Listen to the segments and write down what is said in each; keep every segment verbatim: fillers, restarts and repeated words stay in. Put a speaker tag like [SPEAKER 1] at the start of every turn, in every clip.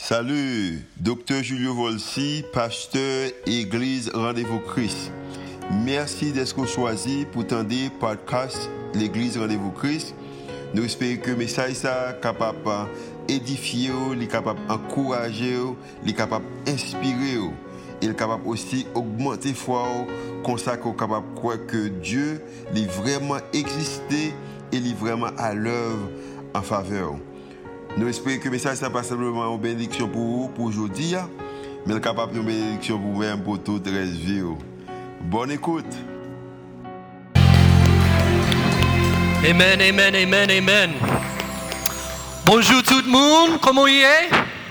[SPEAKER 1] Salut, docteur Julio Volsi, pasteur Église Rendez-vous Christ. Merci d'être choisi pour tendre podcast l'Église Rendez-vous Christ. Nous espérons que le message est capable d'édifier, capable d'encourager, capable d'inspirer. Il est capable aussi d'augmenter la foi, comme ça qu'on est capable de croire que Dieu est vraiment existé et est vraiment à l'œuvre en faveur. Nous espérons que le message n'est pas simplement une bénédiction pour vous, pour aujourd'hui, mais capable de une bénédiction pour vous-même, pour toute la vie. Bonne écoute.
[SPEAKER 2] Amen, amen, amen, amen. Bonjour tout le monde, comment il est?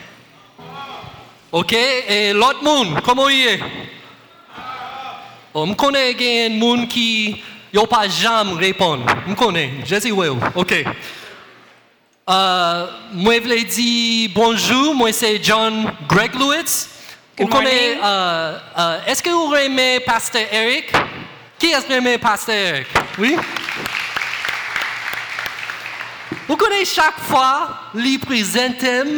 [SPEAKER 2] Ok, et l'autre monde, comment il est? Oh, je connais des gens qui n'ont pas jamais répondu. Je connais, je sais oui, ok. Uh, moi, je voulais dire bonjour, moi c'est John Greg Lewis. Vous connaissez, uh, uh, est-ce que vous aimez Pasteur Eric? Qui est-ce qui aime Pasteur Eric? Oui? Vous connaissez chaque fois, il présente,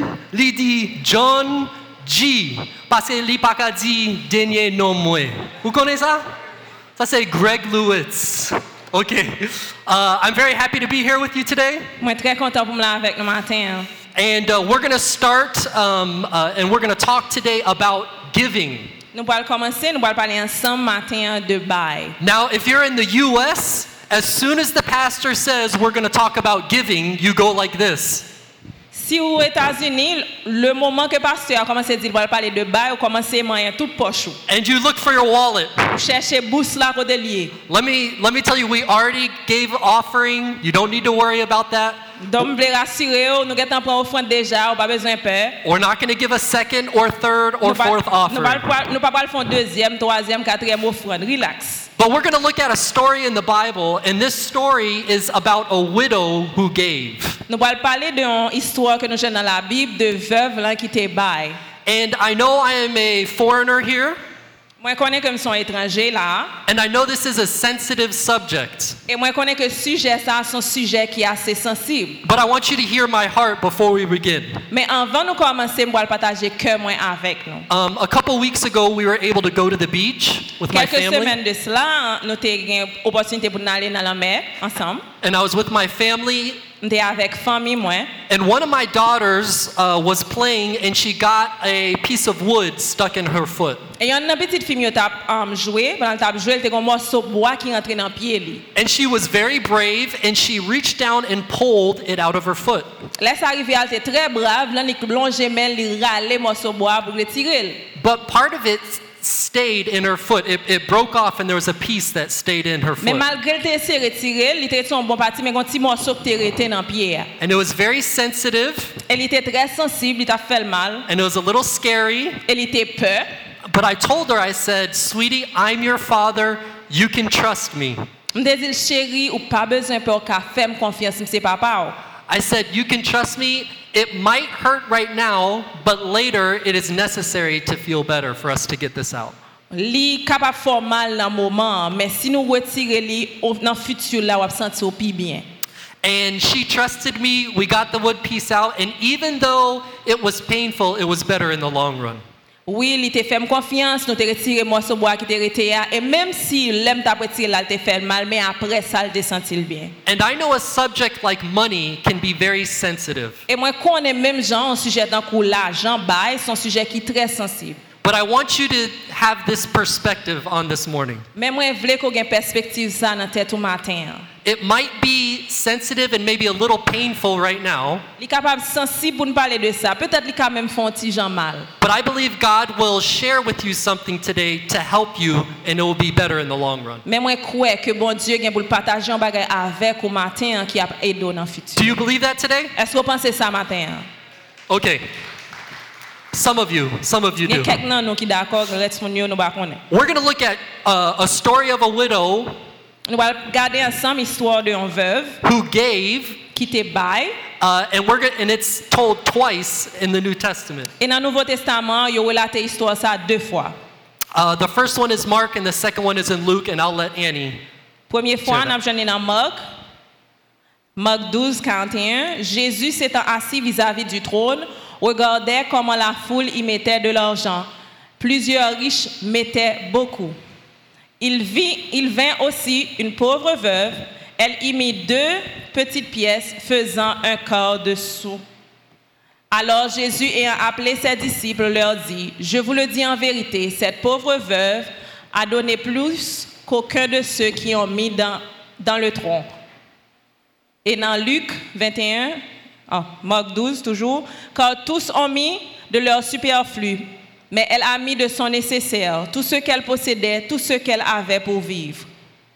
[SPEAKER 2] il dit John G. Parce qu'il n'a pas dit dernier nom. Vous connaissez ça? Ça c'est Greg Lewis. Okay, uh, I'm very happy to be here with you today.
[SPEAKER 3] Moi très content pour me là avec nous matin.
[SPEAKER 2] And uh, we're going to start, um, uh, and we're going to talk today about giving.
[SPEAKER 3] Nous allons commencer, nous allons parler ensemble matin de bail.
[SPEAKER 2] Now, if you're in the U S, as soon as the pastor says we're going to talk about giving, you go like this.
[SPEAKER 3] Si aux États-Unis, le moment que le pasteur a commencé à dire qu'il va parler de bail, vous commencez à manger toute poche.
[SPEAKER 2] And you look for your wallet.
[SPEAKER 3] Vous cherchez bourse là côté lié.
[SPEAKER 2] Let me let me tell you, we already gave offering. You don't need to worry about that.
[SPEAKER 3] Donc, je veux rassurer, nous avons pris offrande déjà, on pas besoin de peur.
[SPEAKER 2] We're not going to give a second or third or fourth offering.
[SPEAKER 3] Nous ne pas pas faire deuxième, troisième, quatrième offrande. Relax.
[SPEAKER 2] But we're going to look at a story in the Bible, and this story is about a widow who gave.
[SPEAKER 3] Nous allons parler d'une histoire que nous avons dans la Bible de veuve là qui te bail.
[SPEAKER 2] And I know I am a foreigner here.
[SPEAKER 3] Moi connais comme son étranger là.
[SPEAKER 2] And I know this is a sensitive subject.
[SPEAKER 3] Et moi connais que sujet ça c'est un sujet qui est assez sensible.
[SPEAKER 2] But I want you to hear my heart before we begin.
[SPEAKER 3] Mais avant nous commencer, moi partager cœur moi avec nous.
[SPEAKER 2] Um, a couple weeks ago, we were able to go to the beach with my
[SPEAKER 3] Quelques
[SPEAKER 2] family.
[SPEAKER 3] semaines de cela, nous avons eu l'opportunité pour aller dans la mer ensemble.
[SPEAKER 2] And I was with my family.
[SPEAKER 3] Nous étions avec famille moi.
[SPEAKER 2] And one of my daughters uh, was playing, and she got a piece of wood stuck in her foot.
[SPEAKER 3] Et il y a une petite fille qui a um, joué, pendant qu'elle joué, elle a un morceau de bois qui rentré dans pied lui.
[SPEAKER 2] And she was very brave, and she reached down and pulled it out of her foot.
[SPEAKER 3] Là ça arrivé, elle était très brave, là elle plongé mais elle râlait morceau de bois pour le tirer.
[SPEAKER 2] But part of it stayed in her foot. It, it broke off, and there was a piece that stayed in her
[SPEAKER 3] Mais
[SPEAKER 2] foot.
[SPEAKER 3] malgré qu'elle s'est retirée, il était son bon parti, mais un petit morceau qui était resté dans pied.
[SPEAKER 2] And it was very sensitive,
[SPEAKER 3] Elle était très sensible, il a fait le mal.
[SPEAKER 2] and it was a little scary.
[SPEAKER 3] Elle était peur.
[SPEAKER 2] But I told her, I said, "Sweetie, I'm your father. You can trust me."
[SPEAKER 3] Je me dis, chérie, ou pas besoin pour qu'elle fasse confiance, c'est papa.
[SPEAKER 2] I said, "You can trust me. It might hurt right now, but later it is necessary to feel better for us to get this out."
[SPEAKER 3] Li capable faire mal dans moment, mais si nous retirer li dans futur là, on va sentir plus bien.
[SPEAKER 2] And she trusted me. We got the wood piece out, and even though it was painful, it was better in the long run.
[SPEAKER 3] Oui, il te fait confiance, nous te retirer morceau bois qui te rete et même si l'aime t'a retiré là, te fait mal, mais après ça, il te sentit bien.
[SPEAKER 2] And I know a subject like money can be very sensitive.
[SPEAKER 3] Et moi connais même genre un sujet dans coup l'argent bail, c'est un sujet qui est très sensible.
[SPEAKER 2] But I want you to have this perspective on this morning.
[SPEAKER 3] Mais moi je veux qu'on ait perspective ça dans tête au matin.
[SPEAKER 2] It might be sensitive and maybe a little painful right now.
[SPEAKER 3] Il capable sensible pour nous parler de ça. Peut-être il quand même font petit gens mal.
[SPEAKER 2] But I believe God will share with you something today to help you, and it will be better in the long run.
[SPEAKER 3] Mais moi crois que bon Dieu vient pour partager un bagage avec au matin qui a aidé dans le futur.
[SPEAKER 2] Do you believe that today?
[SPEAKER 3] Est-ce que vous pensez ça matin?
[SPEAKER 2] Okay. Some of you, some of you
[SPEAKER 3] Il y a
[SPEAKER 2] do.
[SPEAKER 3] quelqu'un nous qui d'accord, reste mon nous pas connaît.
[SPEAKER 2] We're going to look at uh, a story of a widow
[SPEAKER 3] Nous allons regarder ensemble l'histoire d'une veuve
[SPEAKER 2] who gave,
[SPEAKER 3] qui te bail.
[SPEAKER 2] uh, and we're gonna, and it's told twice in the New Testament.
[SPEAKER 3] Et dans le Nouveau Testament, il y a relaté l'histoire ça deux fois.
[SPEAKER 2] Uh, the first one is Mark, and the second one is in Luke, and I'll let Annie.
[SPEAKER 3] Première fois,
[SPEAKER 2] Sure.
[SPEAKER 3] nous avons dans Marc. Marc douze, quarante et un. Jésus s'étant assis vis-à-vis du trône, regardait comment la foule y mettait de l'argent. Plusieurs riches mettaient beaucoup. Il, vit, il vint aussi une pauvre veuve. Elle y mit deux petites pièces faisant un quart de sou. Alors Jésus, ayant appelé ses disciples, leur dit, « Je vous le dis en vérité, cette pauvre veuve a donné plus qu'aucun de ceux qui ont mis dans, dans le tronc. » Et dans Luc vingt et un, oh, Marc douze toujours, « Car tous ont mis de leur superflu, mais elle a mis de son nécessaire, tout ce qu'elle possédait, tout ce qu'elle avait pour vivre. »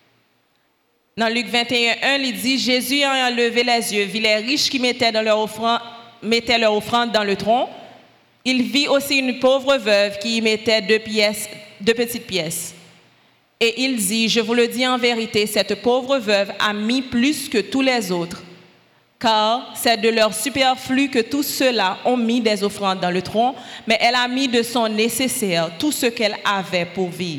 [SPEAKER 3] Dans Luc vingt et un, il dit, « Jésus ayant levé les yeux, vit les riches qui mettaient, dans leur offrande, mettaient leur offrande dans le tronc. Il vit aussi une pauvre veuve qui y mettait deux, pièces, deux petites pièces. Et il dit, je vous le dis en vérité, cette pauvre veuve a mis plus que tous les autres, car c'est de leur superflu que tous ceux-là ont mis des offrandes dans le tronc, mais elle a mis de son nécessaire, tout ce qu'elle avait pour vivre. »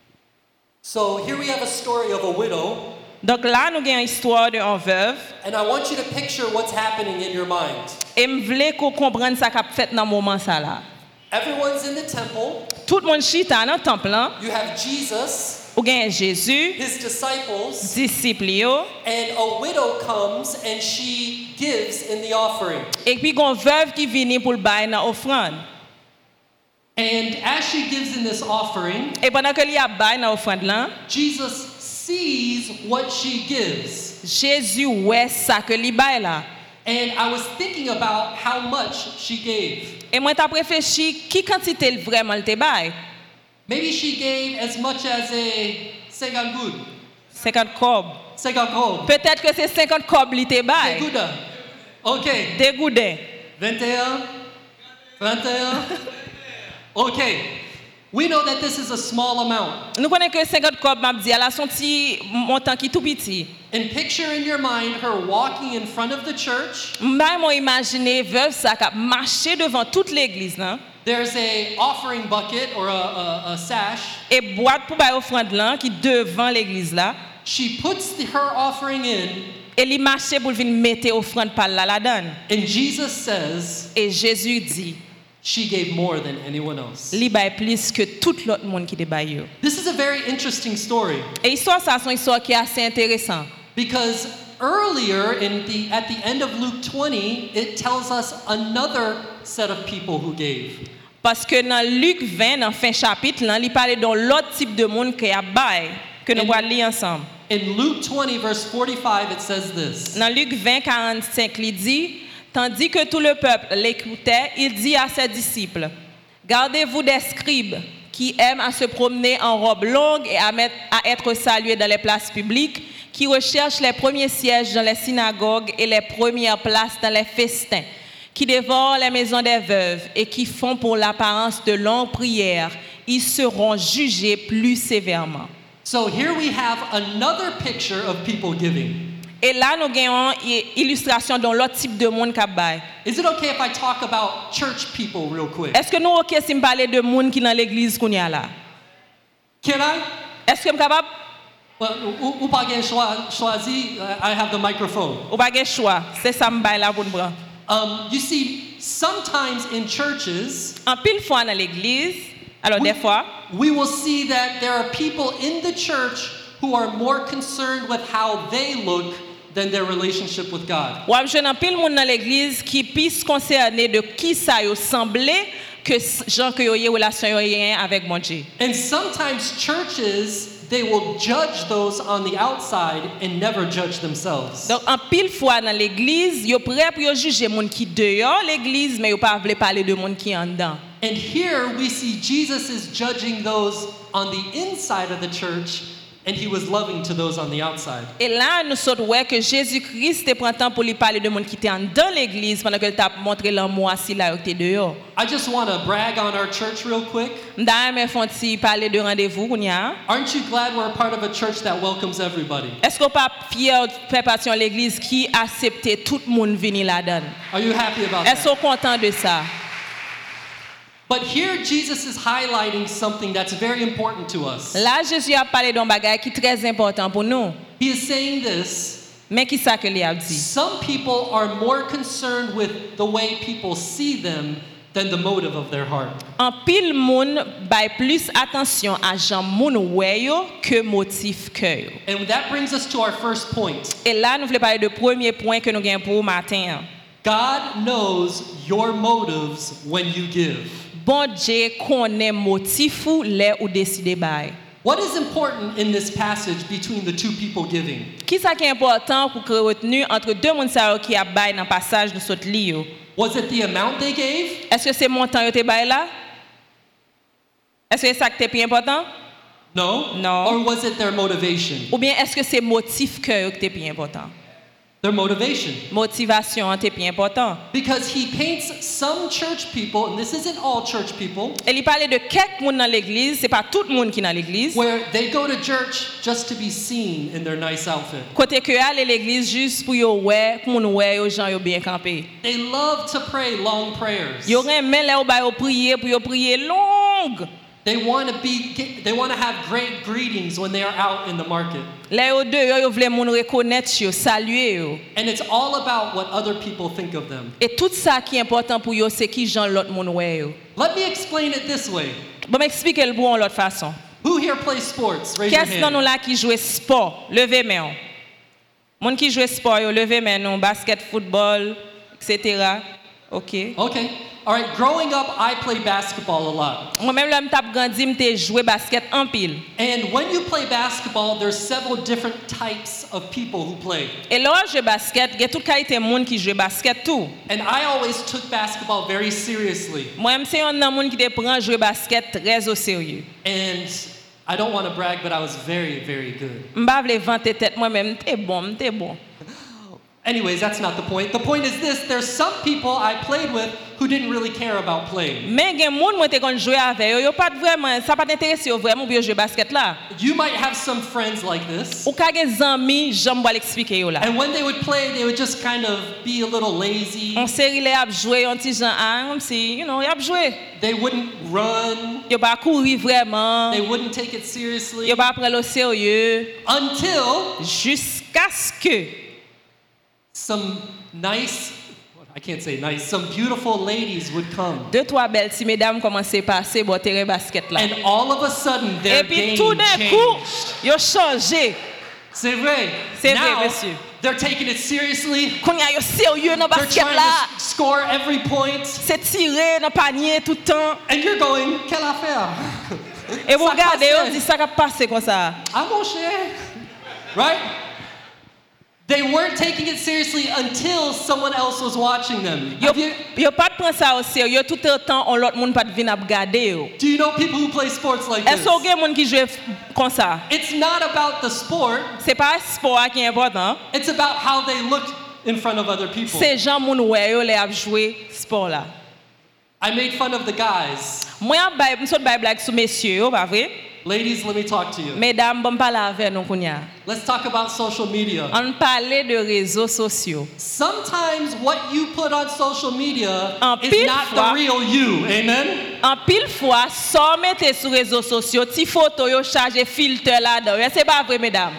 [SPEAKER 2] So here we have a story of a widow.
[SPEAKER 3] Donc là, nous avons une histoire d'une veuve.
[SPEAKER 2] And I want you to picture what's happening in your mind.
[SPEAKER 3] Et je veux qu'on comprenne ce qui a fait dans ce moment là.
[SPEAKER 2] Everyone's in the temple.
[SPEAKER 3] Tout le monde chita dans le temple.
[SPEAKER 2] You have Jesus,
[SPEAKER 3] Ou bien Jésus,
[SPEAKER 2] his disciples,
[SPEAKER 3] disciples yo,
[SPEAKER 2] and a widow comes and she gives in the offering.
[SPEAKER 3] et puis une veuve qui vient pour le bail dans l'offrande.
[SPEAKER 2] And as she gives in this offering,
[SPEAKER 3] Et pendant que il y a bail dans l'offrande là,
[SPEAKER 2] Jesus sees what she gives.
[SPEAKER 3] Jésus ouais ça que li bail là.
[SPEAKER 2] And I was thinking about how much she gave.
[SPEAKER 3] Et moi t'ai réfléchi qui quantité vraiment le te bail.
[SPEAKER 2] Maybe she gave as much as a cinquante goud.
[SPEAKER 3] cinquante cob.
[SPEAKER 2] cinquante goud.
[SPEAKER 3] Peut-être que c'est cinquante cob li te bail.
[SPEAKER 2] Gouda. OK.
[SPEAKER 3] Des goudins.
[SPEAKER 2] vingt et un. vingt et un. OK. We know that this is a small amount.
[SPEAKER 3] Nous connaissons que cinquante cob m'a dit elle a son petit montant qui tout petit.
[SPEAKER 2] And picture in your mind her walking in front of the church.
[SPEAKER 3] Moi moi imaginer veuve ça qui marcher devant toute l'église là.
[SPEAKER 2] There's a offering bucket or a, a, a sash.
[SPEAKER 3] Et boîte pour bailler offrande là qui devant l'église là.
[SPEAKER 2] She puts the, her offering in.
[SPEAKER 3] Et il marchait pour venir mettre offrande par là la donne.
[SPEAKER 2] And Jesus says.
[SPEAKER 3] Et Jésus dit.
[SPEAKER 2] She gave more than anyone else.
[SPEAKER 3] Li baille plus que tout l'autre monde qui te baille.
[SPEAKER 2] This is a very interesting story.
[SPEAKER 3] Et histoire ça c'est une histoire qui est assez intéressante.
[SPEAKER 2] Because earlier in the at the end of Luke twenty, it tells us another set of people who gave.
[SPEAKER 3] Parce que dans Luc vingt, dans fin chapitre, là, il parle d'un l'autre type de monde qui a bail que nous allons lire ensemble.
[SPEAKER 2] In Luke twenty verse forty-five, it says this.
[SPEAKER 3] Dans Luc vingt, quarante-cinq, il dit, tandis que tout le peuple l'écoutait, il dit à ses disciples, gardez-vous des scribes qui aiment à se promener en robe longue et à, mettre, à être salués dans les places publiques, qui recherchent les premiers sièges dans les synagogues et les premières places dans les festins, qui dévorent les maisons des veuves et qui font pour l'apparence de longues prières, ils seront jugés plus sévèrement.
[SPEAKER 2] So here we have another picture of people giving.
[SPEAKER 3] Et là, nous avons une illustration dans l'autre type de monde qui baille.
[SPEAKER 2] Is it okay if I talk about church people real quick?
[SPEAKER 3] Est-ce que nous OK si me parler de monde qui dans l'église qu'on y a là?
[SPEAKER 2] Can I?
[SPEAKER 3] Est-ce que je suis capable?
[SPEAKER 2] Well, ou, ou pas gen choi- choisi, uh, I have the microphone.
[SPEAKER 3] Ou pas de choix. C'est ça me baille là pour nous prendre.
[SPEAKER 2] Um, you see, sometimes in churches,
[SPEAKER 3] En pile fois dans l'église, alors
[SPEAKER 2] we,
[SPEAKER 3] des fois,
[SPEAKER 2] we will see that there are people in the church who are more concerned with how they look than their relationship with God.
[SPEAKER 3] ou je n'en pile monde dans l'église qui plus concerné de qui ça yo semblé que gens que yo y relation yo y avec mon Dieu.
[SPEAKER 2] And sometimes churches, they will judge those on the outside and never judge themselves.
[SPEAKER 3] Donc en pile fois dans l'église, yo prêt pour yo juger monde qui dehors l'église mais yo pas veut parler de monde qui en dedans.
[SPEAKER 2] And here we see Jesus is judging those on the inside of the church, and he was loving to those on the outside.
[SPEAKER 3] Et là nous saute ouais que Jésus-Christ te prend temps pour lui parler de monde qui était en dans l'église pendant que t'a montré l'amour assis là qui était dehors.
[SPEAKER 2] I just want to brag on our church real quick.
[SPEAKER 3] M'da me font ti parler de rendez-vous qu'on y a.
[SPEAKER 2] Aren't you glad we're a part of a church that welcomes everybody?
[SPEAKER 3] Est-ce qu'on pas fier de faire partie de l'église qui accepte tout le monde venir là-dedans?
[SPEAKER 2] Are you happy about
[SPEAKER 3] Est-ce
[SPEAKER 2] that?
[SPEAKER 3] qu'on content de ça?
[SPEAKER 2] But here Jesus is highlighting something that's very important to us.
[SPEAKER 3] Là Jésus a parlé d'un bagage qui est très important pour nous.
[SPEAKER 2] He is saying this,
[SPEAKER 3] Mais qui ça que li a dit?
[SPEAKER 2] Some people are more concerned with the way people see them than the motive of their heart.
[SPEAKER 3] En pile moun bay plus attention à jan moun wè yo que motif cœur yo.
[SPEAKER 2] And that brings us to our first point.
[SPEAKER 3] Et là nous voulons parler de premier point que nous gagnons pour matin.
[SPEAKER 2] God knows your motives when you give.
[SPEAKER 3] Bon Dieu connaît motif ou lè ou décider bay.
[SPEAKER 2] What is important in this passage between the two people giving?
[SPEAKER 3] Qui ça qui est important pour que retenu entre deux moun sa yo qui a bay dans passage nous sot li yo?
[SPEAKER 2] Was it the amount they gave?
[SPEAKER 3] Est-ce que c'est montant yo te bay là? Est-ce que c'est ça qui est plus important?
[SPEAKER 2] No.
[SPEAKER 3] No.
[SPEAKER 2] Or was it their motivation?
[SPEAKER 3] Ou bien est-ce que c'est motif cœur qui est plus important?
[SPEAKER 2] Their motivation.
[SPEAKER 3] Motivation est plus important.
[SPEAKER 2] Because he paints some church people, and this isn't all church people,
[SPEAKER 3] Et il parlait de quelques moun dans l'église, c'est pas tout le monde qui dans l'église.
[SPEAKER 2] where they go to church just to be seen in their nice outfit.
[SPEAKER 3] Côté que aller l'église juste pour yo ouais, pour moun ouais yo gens yo bien campé.
[SPEAKER 2] They love to pray long prayers.
[SPEAKER 3] Yo remen là yo ba yo prier pour yo prier longue.
[SPEAKER 2] They want to be they want to have great greetings when they are out in the market.
[SPEAKER 3] Là yo deux yo yo vle moun reconnaître yo, saluer yo.
[SPEAKER 2] And it's all about what other people think of them.
[SPEAKER 3] Et tout ça qui est important pour yo c'est qui gens l'autre moun ouais yo.
[SPEAKER 2] Let me explain it this way.
[SPEAKER 3] Bon m'expliquer le bon l'autre façon.
[SPEAKER 2] Who here plays sports? Raise your
[SPEAKER 3] Qu'est-ce dans nous
[SPEAKER 2] hand.
[SPEAKER 3] là qui joue sport? Levez main. Moun qui joue sport yo, levez main non, basket, football, et cetera. OK.
[SPEAKER 2] Okay. All right. Growing up, I played basketball a lot.
[SPEAKER 3] Moi même là m'tap grandi m'te jouer basket en pile.
[SPEAKER 2] And when you play basketball, there's several different types of people who play.
[SPEAKER 3] Et là je basket, il y a toute qualité monde qui joue basket tout.
[SPEAKER 2] And I always took basketball very seriously.
[SPEAKER 3] Moi même c'est un monde qui te prend jouer basket très au sérieux.
[SPEAKER 2] And I don't want to brag, but I was very, very good.
[SPEAKER 3] M'pa vle vanter tête moi même, t'es bon, t'es bon.
[SPEAKER 2] Anyways, that's not the point. The point is this: there's some people I played with who didn't really care about playing.
[SPEAKER 3] Mais gen monde moi te kon jouer avec yo, yo pas vraiment, ça pas t'intéresser vraiment pour jouer basket là.
[SPEAKER 2] You might have some friends like this.
[SPEAKER 3] Ou ka gen zami, j'aime pas l'expliquer yo là.
[SPEAKER 2] And when they would play, they would just kind of be a little lazy.
[SPEAKER 3] On série les a jouer, on ti jan ah, comme si, you know, y a jouer.
[SPEAKER 2] They wouldn't run.
[SPEAKER 3] Yo pas courir vraiment.
[SPEAKER 2] They wouldn't take it seriously
[SPEAKER 3] Yo pas prendre au sérieux
[SPEAKER 2] until
[SPEAKER 3] jusqu'à ce que
[SPEAKER 2] some nice, I can't say nice, some beautiful ladies would come.
[SPEAKER 3] deux trois belles si mesdames commençaient à passer bon terrain basket là.
[SPEAKER 2] And all of a sudden, their
[SPEAKER 3] Et puis
[SPEAKER 2] game
[SPEAKER 3] tout d'un coup,
[SPEAKER 2] changed.
[SPEAKER 3] yo changé.
[SPEAKER 2] C'est vrai.
[SPEAKER 3] C'est vrai,
[SPEAKER 2] Now,
[SPEAKER 3] monsieur.
[SPEAKER 2] they're taking it seriously.
[SPEAKER 3] Qu'on y a yo sérieux dans
[SPEAKER 2] They're
[SPEAKER 3] basket
[SPEAKER 2] trying
[SPEAKER 3] là.
[SPEAKER 2] to score every point.
[SPEAKER 3] C'est tiré dans panier tout le temps.
[SPEAKER 2] And you're going, quelle affaire?
[SPEAKER 3] Et vous
[SPEAKER 2] Ça
[SPEAKER 3] regardez,
[SPEAKER 2] passait.
[SPEAKER 3] on dit ça qui a passé comme ça.
[SPEAKER 2] Ah mon cher. Right? They weren't taking it seriously until someone else was watching them.
[SPEAKER 3] Yo,
[SPEAKER 2] Have you-
[SPEAKER 3] yo pas de prendre ça au sérieux tout le temps on l'autre monde pas de venir regarder yo.
[SPEAKER 2] do you know people who play sports like
[SPEAKER 3] Est-ce
[SPEAKER 2] this?
[SPEAKER 3] qu'il y a des gens qui jouent comme ça?
[SPEAKER 2] It's not about the sport.
[SPEAKER 3] C'est pas le sport qui est important.
[SPEAKER 2] It's about how they look in front of other people.
[SPEAKER 3] C'est gens moun ouais yo les a jouer sport là.
[SPEAKER 2] I made fun of the guys.
[SPEAKER 3] Moi bay m'sot bay blague sur messieurs yo, pas vrai?
[SPEAKER 2] Ladies, let me talk to you.
[SPEAKER 3] Mesdames, bon parler avec nous kounya.
[SPEAKER 2] Let's talk about social media.
[SPEAKER 3] On parlait de réseaux sociaux.
[SPEAKER 2] Sometimes what you put on social media
[SPEAKER 3] En
[SPEAKER 2] is
[SPEAKER 3] pile
[SPEAKER 2] not
[SPEAKER 3] fois-
[SPEAKER 2] the real you. Amen?
[SPEAKER 3] En pile fois, sans mettre sur réseaux sociaux, ti photo yo chargé filtre là-dedans. C'est pas vrai mesdames.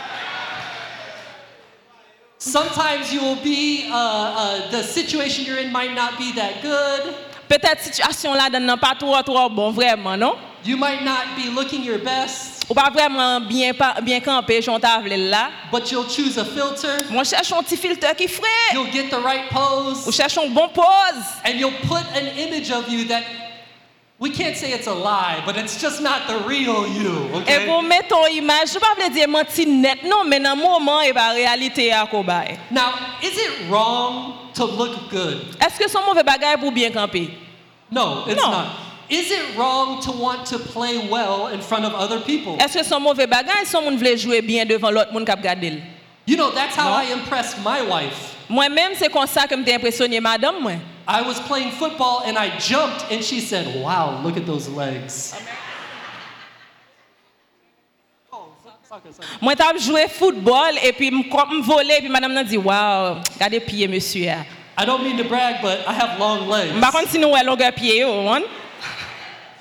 [SPEAKER 2] Sometimes you will be, uh, uh, the situation you're in might not be that good.
[SPEAKER 3] Peut-être situation là-dedans non pas trop trop bon vraiment, non?
[SPEAKER 2] You might not be looking your best,
[SPEAKER 3] Ou pas vraiment bien pas bien campé j'on table là.
[SPEAKER 2] but you'll choose a filter.
[SPEAKER 3] Moi cherche un petit filtre qui frais.
[SPEAKER 2] You'll get the right
[SPEAKER 3] Ou
[SPEAKER 2] pose,
[SPEAKER 3] cherche un bon pose.
[SPEAKER 2] and you'll put an image of you that we can't say it's a lie, but it's just not the real you.
[SPEAKER 3] Et
[SPEAKER 2] Okay?
[SPEAKER 3] pour mettre ton image, je pas veux dire menti net non, mais dans moment et pas réalité à ko bay.
[SPEAKER 2] Now, is it wrong to look good?
[SPEAKER 3] Est-ce que son mauvais bagage pour bien camper?
[SPEAKER 2] No, it's
[SPEAKER 3] No.
[SPEAKER 2] not. Is it wrong to want to play well in front of other people?
[SPEAKER 3] Est-ce que son mauvais bagage son moun vle jouer bien devant l'autre moun k'ap gade?
[SPEAKER 2] You know, that's how
[SPEAKER 3] No.
[SPEAKER 2] I impressed my wife.
[SPEAKER 3] Moi-même c'est comme ça que m'était impressionné madame moi.
[SPEAKER 2] I was playing football and I jumped and she said, "Wow, look at those legs."
[SPEAKER 3] Moi t'as joué football et puis me voler puis madame n'a dit waouh, regardez pied monsieur.
[SPEAKER 2] I don't mean to brag, but I have long legs.
[SPEAKER 3] Par contre si nous ouais longueur pied yo, hein?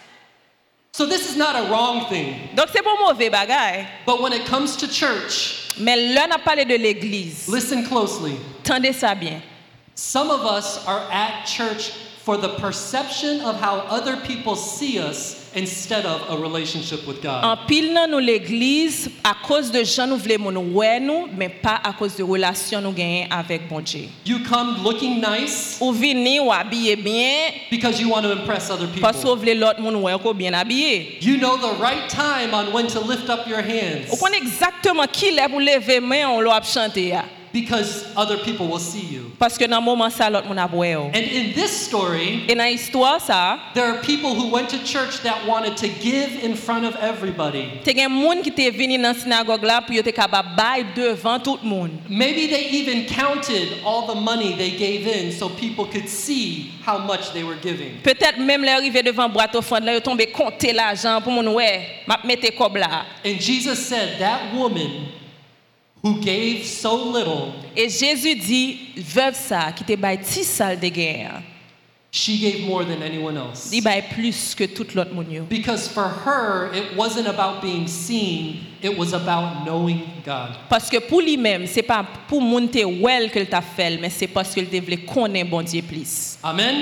[SPEAKER 2] So this is not a wrong thing.
[SPEAKER 3] Donc c'est pas mauvais bagage.
[SPEAKER 2] But when it comes to church,
[SPEAKER 3] Mais là, on a parlé de l'église.
[SPEAKER 2] Listen closely.
[SPEAKER 3] Tendez ça bien.
[SPEAKER 2] Some of us are at church for the perception of how other people see us instead of a relationship with God.
[SPEAKER 3] En pile nan nous l'église à cause de gens nous voulons nous ouais nous mais pas à cause de relation nous gagnons avec bon Dieu.
[SPEAKER 2] You come looking nice
[SPEAKER 3] Ou vini ou habillé bien
[SPEAKER 2] because you want to impress other
[SPEAKER 3] parce que vous
[SPEAKER 2] people.
[SPEAKER 3] voulez l'autre monde ouais ko bien habillé.
[SPEAKER 2] You know the right time on when to lift up your hands
[SPEAKER 3] Ou connaît exactement qui est pour lever main on l'a chanter ya.
[SPEAKER 2] because other people will see you.
[SPEAKER 3] Parce que dans moment ça l'autre monde a ouais.
[SPEAKER 2] And in this story,
[SPEAKER 3] Et dans histoire ça,
[SPEAKER 2] there are people who went to church that wanted to give in front of everybody.
[SPEAKER 3] te gen monde qui te venu dans synagogue là pour yo te capable bail devant tout le monde.
[SPEAKER 2] Maybe they even counted all the money they gave in so people could see how much they were giving.
[SPEAKER 3] Peut-être même les arrivé devant boîte offrande là yo tomber compter l'argent pour moun ouais, m'a mettre cob là.
[SPEAKER 2] And Jesus said that woman who gave so little,
[SPEAKER 3] Et Jésus dit veuve ça qui te bail ti sal de guerre.
[SPEAKER 2] she gave more than anyone else.
[SPEAKER 3] Il bail plus que tout l'autre moun yo.
[SPEAKER 2] Because for her, it wasn't about being seen, it was about knowing God.
[SPEAKER 3] Parce que pour lui-même, c'est pas pour moun te well que t'a fait, mais c'est parce que il te voulait connaître bon Dieu plus.
[SPEAKER 2] Amen?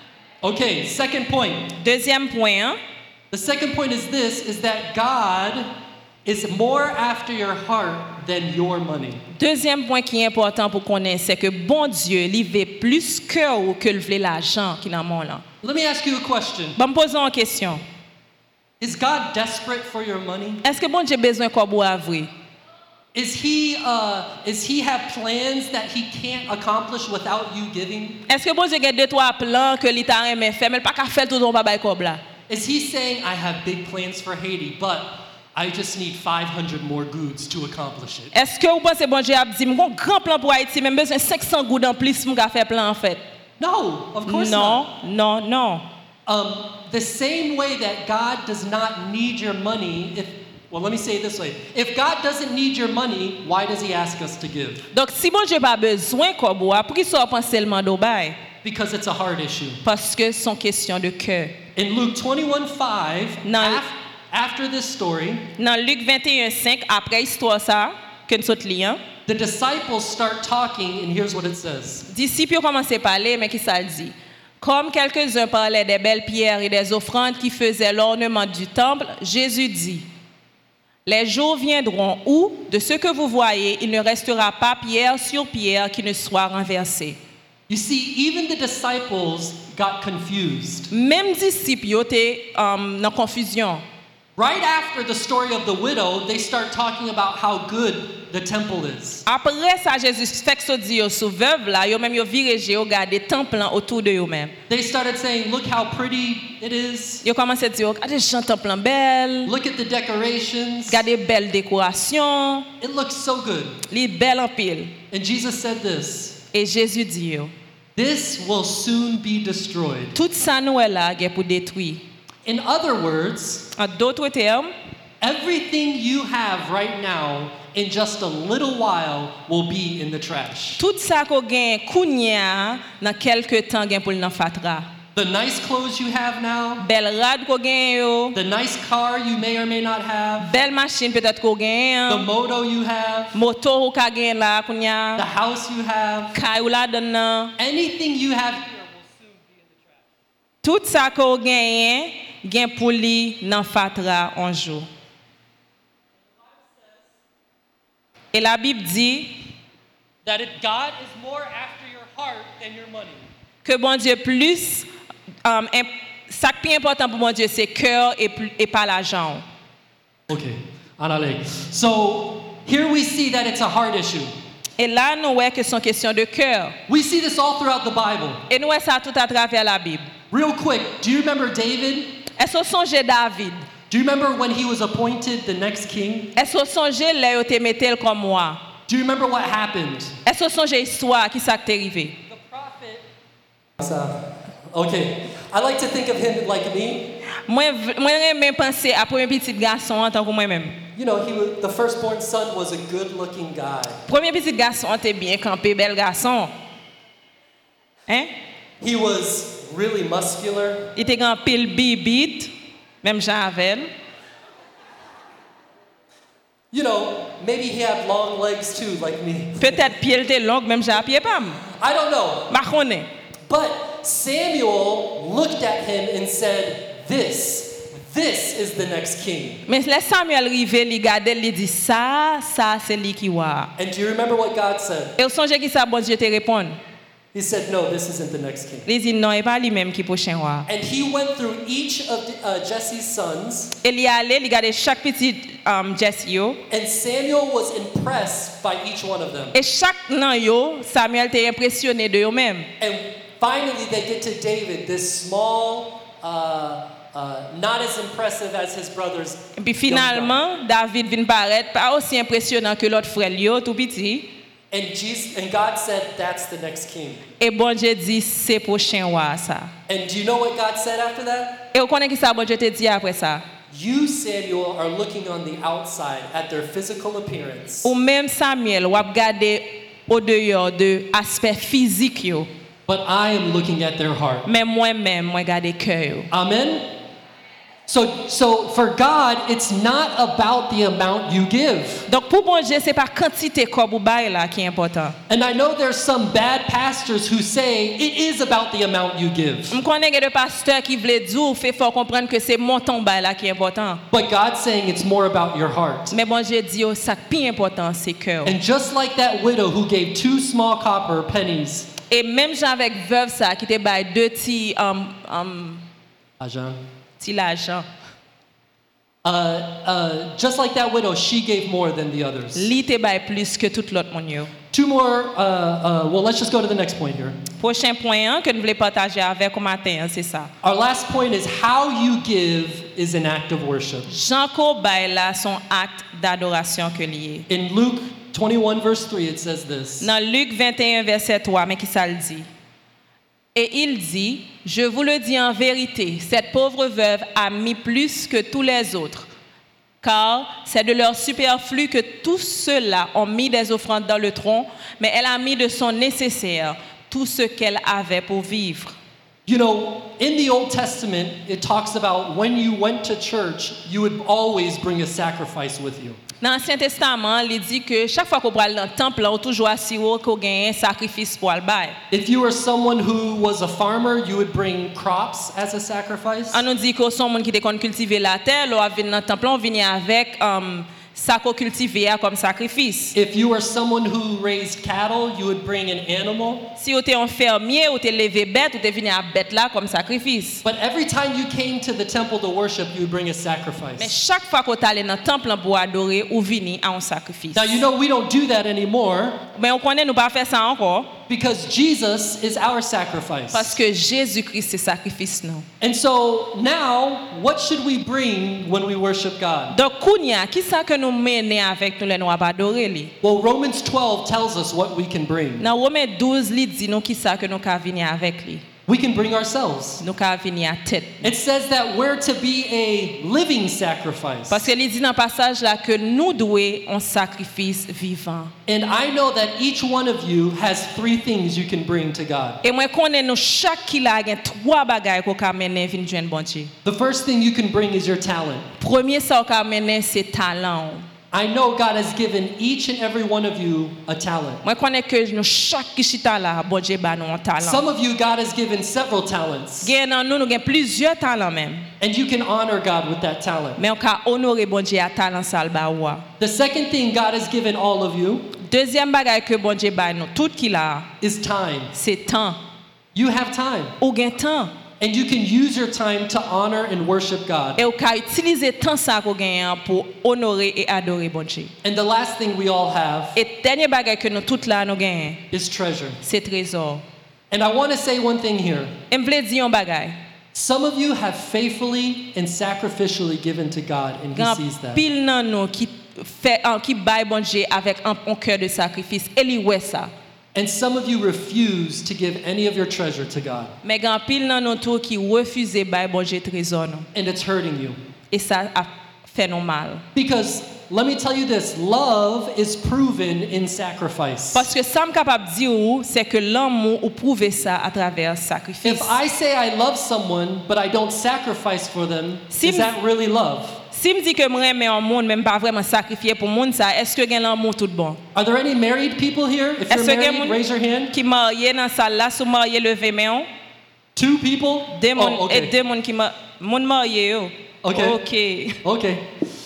[SPEAKER 2] Okay, second point.
[SPEAKER 3] Deuxième point, hein?
[SPEAKER 2] The second point is this, is that God is more after your heart than your money.
[SPEAKER 3] Deuxième point qui est important pour connaître, c'est que bon Dieu, il veut plus cœur que le veut l'argent qui dans mon là.
[SPEAKER 2] Let me ask you a question.
[SPEAKER 3] Bon, me posons une question.
[SPEAKER 2] Is God desperate for your money?
[SPEAKER 3] Est-ce que bon Dieu a besoin qu'on boit vrai?
[SPEAKER 2] Is he, uh, is he have plans that he can't accomplish without you giving?
[SPEAKER 3] Est-ce que bon Dieu a deux trois plans que l'État aime faire, mais pas qu'à faire tout dans pas bail comme là?
[SPEAKER 2] Is he saying, I have big plans for Haiti, but I just need five hundred more goods to accomplish it?
[SPEAKER 3] Est-ce que vous pensez bon Dieu a dit mon grand plan pour Haïti, même besoin cinq cents gouttes en plus pour faire plan en fait?
[SPEAKER 2] No, of course
[SPEAKER 3] Non,
[SPEAKER 2] not.
[SPEAKER 3] non, non.
[SPEAKER 2] Um, the same way that God does not need your money, if, well, let me say it this way. If God doesn't need your money, why does he ask us to give?
[SPEAKER 3] Donc si bon Dieu pas besoin qu'on boit, pour qu'il soit penser seulement d'au bail?
[SPEAKER 2] Because it's a heart issue.
[SPEAKER 3] Parce que c'est une question de cœur.
[SPEAKER 2] In Luke twenty-one five,
[SPEAKER 3] No.
[SPEAKER 2] af- after this story,
[SPEAKER 3] Dans Luc vingt et un cinq, après histoire ça, que nous sommes liés,
[SPEAKER 2] the disciples start talking, and here's what it says.
[SPEAKER 3] disciples commencent à parler, mais qui ça dit? Comme quelques-uns parlaient des belles pierres et des offrandes qui faisaient l'ornement du temple, Jésus dit, les jours viendront où, de ce que vous voyez, il ne restera pas pierre sur pierre qui ne soit renversée.
[SPEAKER 2] You see, even the disciples got confused.
[SPEAKER 3] Même disciples étaient um, dans confusion.
[SPEAKER 2] Right after the story of the widow, they start talking about how good the temple is.
[SPEAKER 3] Après ça, Jésus fait que ça dit aux veuve là, yo même yo viré yo garder temple autour de eux même.
[SPEAKER 2] They started saying, look how pretty it is.
[SPEAKER 3] Yo commencé à dire, regardez ce temple belle,
[SPEAKER 2] Look at the decorations.
[SPEAKER 3] regardez belle décoration,
[SPEAKER 2] It looks so good.
[SPEAKER 3] li belle en pile.
[SPEAKER 2] And Jesus said this,
[SPEAKER 3] Et Jésus dit yo,
[SPEAKER 2] this will soon be destroyed.
[SPEAKER 3] tout ça nous est là pour détruire.
[SPEAKER 2] In other words,
[SPEAKER 3] En d'autres termes,
[SPEAKER 2] everything you have right now in just a little while will be in the trash.
[SPEAKER 3] tout ça qu'on gagne kounya dans quelques temps gagne pour nan fatra.
[SPEAKER 2] The nice clothes you have now,
[SPEAKER 3] Belle rad qu'on gagne yo,
[SPEAKER 2] the nice car you may or may not have,
[SPEAKER 3] belle machine peut-être qu'on
[SPEAKER 2] the
[SPEAKER 3] gagne,
[SPEAKER 2] moto you have,
[SPEAKER 3] moto ou ka gagne là
[SPEAKER 2] the
[SPEAKER 3] kounya,
[SPEAKER 2] house you have,
[SPEAKER 3] kay ou la donne nan.
[SPEAKER 2] anything you have
[SPEAKER 3] Tout ça qu'on gagne, gagne pour li nan fatra un jour. Et la Bible dit
[SPEAKER 2] that it, God is more after your heart than your money.
[SPEAKER 3] que bon Dieu plus, um, imp- ça qui est important pour bon Dieu c'est cœur et, plus- et pas l'argent.
[SPEAKER 2] Okay, Anale. So here we see that it's a heart issue.
[SPEAKER 3] Et là nous voyons que c'est une question de cœur.
[SPEAKER 2] We see this all throughout the Bible.
[SPEAKER 3] Et nous voyons ça tout à travers la Bible.
[SPEAKER 2] Real quick, do you remember David?
[SPEAKER 3] Est-ce que vous songez David?
[SPEAKER 2] Do you remember when he was appointed the next king?
[SPEAKER 3] Est-ce que vous songez là où te mettel comme moi?
[SPEAKER 2] Do you remember what happened?
[SPEAKER 3] Est-ce que vous songez l'histoire qui s'est arrivé?
[SPEAKER 2] The prophet. Okay, I like to think of him like me.
[SPEAKER 3] Moi moi j'aime penser à premier petit garçon en tant que moi-même.
[SPEAKER 2] You know, he was, the firstborn son was a good-looking guy.
[SPEAKER 3] Premier petit garçon était bien campé, bel garçon. Hein?
[SPEAKER 2] He was really muscular.
[SPEAKER 3] Il était grand pile bibite, même Jean avec.
[SPEAKER 2] You know, maybe he had long legs too, like me.
[SPEAKER 3] Peut-être pied était long, même j'ai à pied pas.
[SPEAKER 2] I don't know.
[SPEAKER 3] Ma connais.
[SPEAKER 2] But Samuel looked at him and said, This, this is the next king.
[SPEAKER 3] Mais les Samuel rivé, il regardait, il dit ça, ça c'est lui qui voit.
[SPEAKER 2] And do you remember what God said?
[SPEAKER 3] Et au songe qui ça bon Dieu te répond.
[SPEAKER 2] He said, No, this isn't the next king.
[SPEAKER 3] Il dit non, et pas lui-même qui prochain roi.
[SPEAKER 2] And he went through each of the, uh, Jesse's sons.
[SPEAKER 3] Et il y allait, il regardait chaque petit um, Jesse yo.
[SPEAKER 2] And Samuel was impressed by each one of them.
[SPEAKER 3] Et chaque nan yo, Samuel était impressionné de eux même.
[SPEAKER 2] And finally, they get to David, this small, uh, uh, not as impressive as his brothers.
[SPEAKER 3] Et puis finalement, David vient paraître pas aussi impressionnant que l'autre frère yo, tout petit.
[SPEAKER 2] And Jesus, and God said, "That's the next king."
[SPEAKER 3] Et bon Dieu dit c'est prochain roi ça.
[SPEAKER 2] And do you know what God said after that?
[SPEAKER 3] Et vous connaissez qui ça bon Dieu te dit après ça?
[SPEAKER 2] You, Samuel, are looking on the outside at their physical appearance.
[SPEAKER 3] Ou même Samuel, ou regarder au dehors de aspect physique yo.
[SPEAKER 2] But I am looking at their heart.
[SPEAKER 3] Mais moi-même, moi regarder cœur yo.
[SPEAKER 2] Amen. So, so for God, it's not about the amount you give.
[SPEAKER 3] Donc pour bon Dieu, c'est pas quantité comme ou bail là qui est important.
[SPEAKER 2] And I know there's some bad pastors who say it is about the amount you give.
[SPEAKER 3] Je connais des pasteurs qui veulent dire fait fort comprendre que c'est montant bail là qui est important.
[SPEAKER 2] But God's saying it's more about your heart.
[SPEAKER 3] Mais bon Dieu dit oh, ça qui est important c'est cœur.
[SPEAKER 2] And just like that widow who gave two small copper pennies.
[SPEAKER 3] Et même Jean avec veuve ça qui te bail deux petits um um
[SPEAKER 2] Ajan.
[SPEAKER 3] petit l'argent.
[SPEAKER 2] Uh, uh, just like that widow, she gave more than the others.
[SPEAKER 3] Li te bail plus que tout l'autre monde yo.
[SPEAKER 2] Two more, uh, uh, well, let's just go to the next point here.
[SPEAKER 3] Prochain point hein, que nous voulons partager avec au matin, hein, c'est ça.
[SPEAKER 2] Our last point is how you give is an act of worship.
[SPEAKER 3] Jean ko bail là son acte d'adoration que lié.
[SPEAKER 2] In Luke twenty-one, verse three, it says this.
[SPEAKER 3] Dans Luc vingt et un verset trois, mais qui ça le dit? Et il dit, je vous le dis en vérité, cette pauvre veuve a mis plus que tous les autres, car c'est de leur superflu que tous ceux-là ont mis des offrandes dans le tronc, mais elle a mis de son nécessaire tout ce qu'elle avait pour vivre.
[SPEAKER 2] You know, in the Old Testament, it talks about when you went to church, you would always bring a sacrifice with you.
[SPEAKER 3] Dans l'Ancien Testament, il dit que chaque fois qu'on va dans le temple, on toujours assuré qu'on gagne un sacrifice pour le bail.
[SPEAKER 2] If you were someone who was a farmer, you would bring crops as a sacrifice.
[SPEAKER 3] On nous dit que sont monde qui te cultiver la terre, on vient dans le temple, on vient avec um, ça qu'on cultiver comme sacrifice.
[SPEAKER 2] If you were someone who raised cattle, you would bring an animal.
[SPEAKER 3] Si vous êtes un fermier, ou t'es levé bête, ou t'es venu à bête là comme sacrifice.
[SPEAKER 2] But every time you came to the temple to worship, you would bring a
[SPEAKER 3] Mais
[SPEAKER 2] sacrifice.
[SPEAKER 3] chaque fois qu'on allait dans le temple pour adorer, ou venu à un sacrifice.
[SPEAKER 2] Now you know we don't do that anymore
[SPEAKER 3] Mais on connaît nous pas faire ça encore
[SPEAKER 2] because Jesus is our sacrifice.
[SPEAKER 3] parce que Jésus-Christ c'est sacrifice nous.
[SPEAKER 2] And so now, what should we bring when we worship God?
[SPEAKER 3] Donc kounya, qui ça que nous mener avec nous les nous adorer lui?
[SPEAKER 2] Well, Romans twelve tells us what we can bring.
[SPEAKER 3] Dans Romains douze, il dit nous qui ça que nous ca venir avec lui.
[SPEAKER 2] We can bring ourselves.
[SPEAKER 3] Nous ca venir à tête.
[SPEAKER 2] It says that we're to be a living sacrifice.
[SPEAKER 3] Parce que il dit dans le passage là que nous devons un sacrifice vivant.
[SPEAKER 2] And I know that each one of you has three things you can bring to God.
[SPEAKER 3] Et moi connais nous chaque qui la gagne trois bagages qu'on ca mener vinn joindre bon Dieu.
[SPEAKER 2] The first thing you can bring is your talent.
[SPEAKER 3] Premier ça qu'on mener c'est talent.
[SPEAKER 2] I know God has given each and every one of you a talent.
[SPEAKER 3] Moi connais que nous chaque qui chita là bon Dieu ba nous un talent.
[SPEAKER 2] Some of you, God has given several talents.
[SPEAKER 3] Gagne dans nous nous gagne plusieurs talents même.
[SPEAKER 2] And you can honor God with that talent.
[SPEAKER 3] Mais on ca honorer bon Dieu à talent ça le ba wa.
[SPEAKER 2] The second thing God has given all of you
[SPEAKER 3] Deuxième bagage que bon Dieu ba nous tout qui là
[SPEAKER 2] is time.
[SPEAKER 3] c'est temps.
[SPEAKER 2] You have time.
[SPEAKER 3] Ou gagne temps.
[SPEAKER 2] And you can use your time to honor and worship God.
[SPEAKER 3] Et on ca utiliser temps ça qu'on gagne pour honorer et adorer bon Dieu.
[SPEAKER 2] And the last thing we all have
[SPEAKER 3] Et dernier bagage que nous tout là nous gagne
[SPEAKER 2] is treasure.
[SPEAKER 3] c'est trésor.
[SPEAKER 2] And I want to say one thing here.
[SPEAKER 3] Et m'vle dire un bagage.
[SPEAKER 2] Some of you have faithfully and sacrificially given to God, and He
[SPEAKER 3] Grand
[SPEAKER 2] sees that.
[SPEAKER 3] pile nan nous qui fait qui bail bon Dieu avec un, un cœur de sacrifice. Et li ouais ça.
[SPEAKER 2] And some of you refuse to give any of your treasure to God.
[SPEAKER 3] Mais grand pile nan nous tout qui refuse bail bon Dieu trésor nous.
[SPEAKER 2] And it's hurting you.
[SPEAKER 3] Et ça a fait nous mal.
[SPEAKER 2] Because let me tell you this, love is proven in sacrifice.
[SPEAKER 3] Parce que ça me capable dire ou c'est que l'amour ou prouver ça à travers sacrifice.
[SPEAKER 2] If I say I love someone but I don't sacrifice for them,
[SPEAKER 3] Si
[SPEAKER 2] is
[SPEAKER 3] m-
[SPEAKER 2] that really love?
[SPEAKER 3] si me dit que moi aimer un monde même pas vraiment sacrifier pour monde ça, est-ce que gain l'amour tout bon?
[SPEAKER 2] Are there any married people here? If you're
[SPEAKER 3] Est-ce que
[SPEAKER 2] married, raise your hand.
[SPEAKER 3] qui marié dans salle là, sous marié lever main?
[SPEAKER 2] Two people?
[SPEAKER 3] Deux monde
[SPEAKER 2] Oh,
[SPEAKER 3] et
[SPEAKER 2] okay.
[SPEAKER 3] deux monde qui ma monde marié yo.
[SPEAKER 2] Okay.
[SPEAKER 3] OK.
[SPEAKER 2] Okay.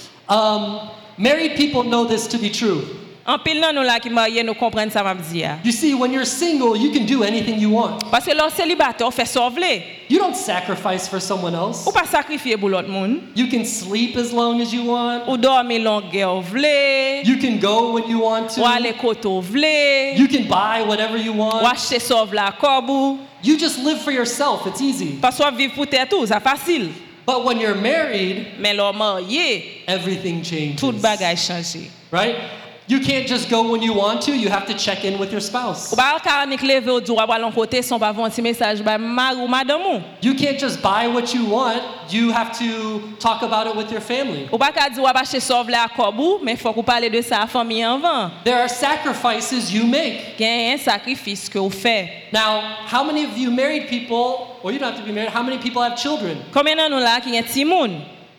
[SPEAKER 2] Um, married people know this to be true.
[SPEAKER 3] En pile nan nous là qui marié nous comprendre ça m'a dit.
[SPEAKER 2] You see, when you're single, you can do anything you want.
[SPEAKER 3] Parce que l'on célibataire fait sauver.
[SPEAKER 2] You don't sacrifice for someone else.
[SPEAKER 3] Ou pas sacrifier pour l'autre monde.
[SPEAKER 2] You can sleep as long as you want.
[SPEAKER 3] Ou dormir longueur vle.
[SPEAKER 2] You can go when you want
[SPEAKER 3] Ou
[SPEAKER 2] to.
[SPEAKER 3] aller koto vle.
[SPEAKER 2] You can buy whatever you
[SPEAKER 3] Ou
[SPEAKER 2] want.
[SPEAKER 3] acheter sauve la kobou.
[SPEAKER 2] You just live for yourself. It's easy.
[SPEAKER 3] Parce que vivre pour tête tout, ça facile.
[SPEAKER 2] But when you're married,
[SPEAKER 3] Mais l'homme marié,
[SPEAKER 2] everything changes.
[SPEAKER 3] tout bagage changé.
[SPEAKER 2] Right? You can't just go when you want to. You have to check in with your spouse.
[SPEAKER 3] Ou pas kanik lever au droit pour l'on côté son pas un petit message ba mar ou madame ou.
[SPEAKER 2] You can't just buy what you want. You have to talk about it with your family.
[SPEAKER 3] Ou pas ka di ou pas acheter sauve la kobou, mais faut qu'on parler de ça à famille avant.
[SPEAKER 2] There are sacrifices you make.
[SPEAKER 3] Gain un sacrifice que vous fait.
[SPEAKER 2] Now, how many of you married people, or you don't have to be married, how many people have children?
[SPEAKER 3] Combien nan nous là qui un petit monde?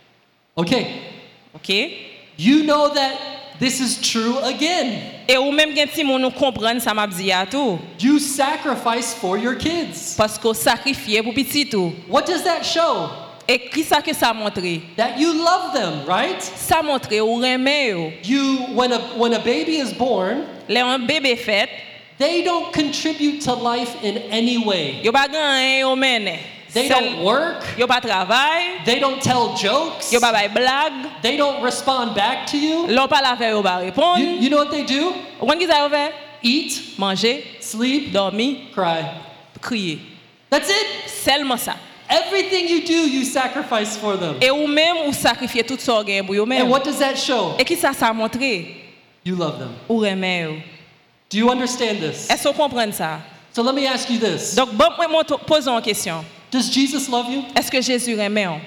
[SPEAKER 2] Okay.
[SPEAKER 3] OK?
[SPEAKER 2] You know that this is true again.
[SPEAKER 3] Et ou même gen petit monde nous comprendre ça m'a dit à tout.
[SPEAKER 2] You sacrifice for your kids.
[SPEAKER 3] Parce qu'on sacrifié pour petit tout.
[SPEAKER 2] What does that show?
[SPEAKER 3] Et qui ça que ça montre?
[SPEAKER 2] That you love them, right?
[SPEAKER 3] Ça montre ou remet yo.
[SPEAKER 2] You, when a, when a baby is born,
[SPEAKER 3] Les un bébé fait,
[SPEAKER 2] they don't contribute to life in any way.
[SPEAKER 3] yo pas gan yo mène.
[SPEAKER 2] They don't work.
[SPEAKER 3] Yo pas travail,
[SPEAKER 2] They don't tell jokes.
[SPEAKER 3] yo pas bay blague,
[SPEAKER 2] They don't respond back to you.
[SPEAKER 3] l'on pas la faire yo pas répondre.
[SPEAKER 2] You, you know what they do?
[SPEAKER 3] Ou kon ki ça yo fait?
[SPEAKER 2] Eat,
[SPEAKER 3] Manger,
[SPEAKER 2] sleep,
[SPEAKER 3] dormir,
[SPEAKER 2] cry.
[SPEAKER 3] crier.
[SPEAKER 2] That's it.
[SPEAKER 3] Seulement ça.
[SPEAKER 2] Everything you do, you sacrifice for them.
[SPEAKER 3] Et ou même ou sacrifier tout ça gain pour yo
[SPEAKER 2] And
[SPEAKER 3] même.
[SPEAKER 2] what does that show?
[SPEAKER 3] Et qui ça ça montre?
[SPEAKER 2] You love them.
[SPEAKER 3] Ou remet yo.
[SPEAKER 2] Do you understand this?
[SPEAKER 3] Est-ce qu'on comprend ça?
[SPEAKER 2] So let me ask you this.
[SPEAKER 3] Donc bon moi posons une question.
[SPEAKER 2] Does Jesus love you?
[SPEAKER 3] Est-ce que Jésus remet on?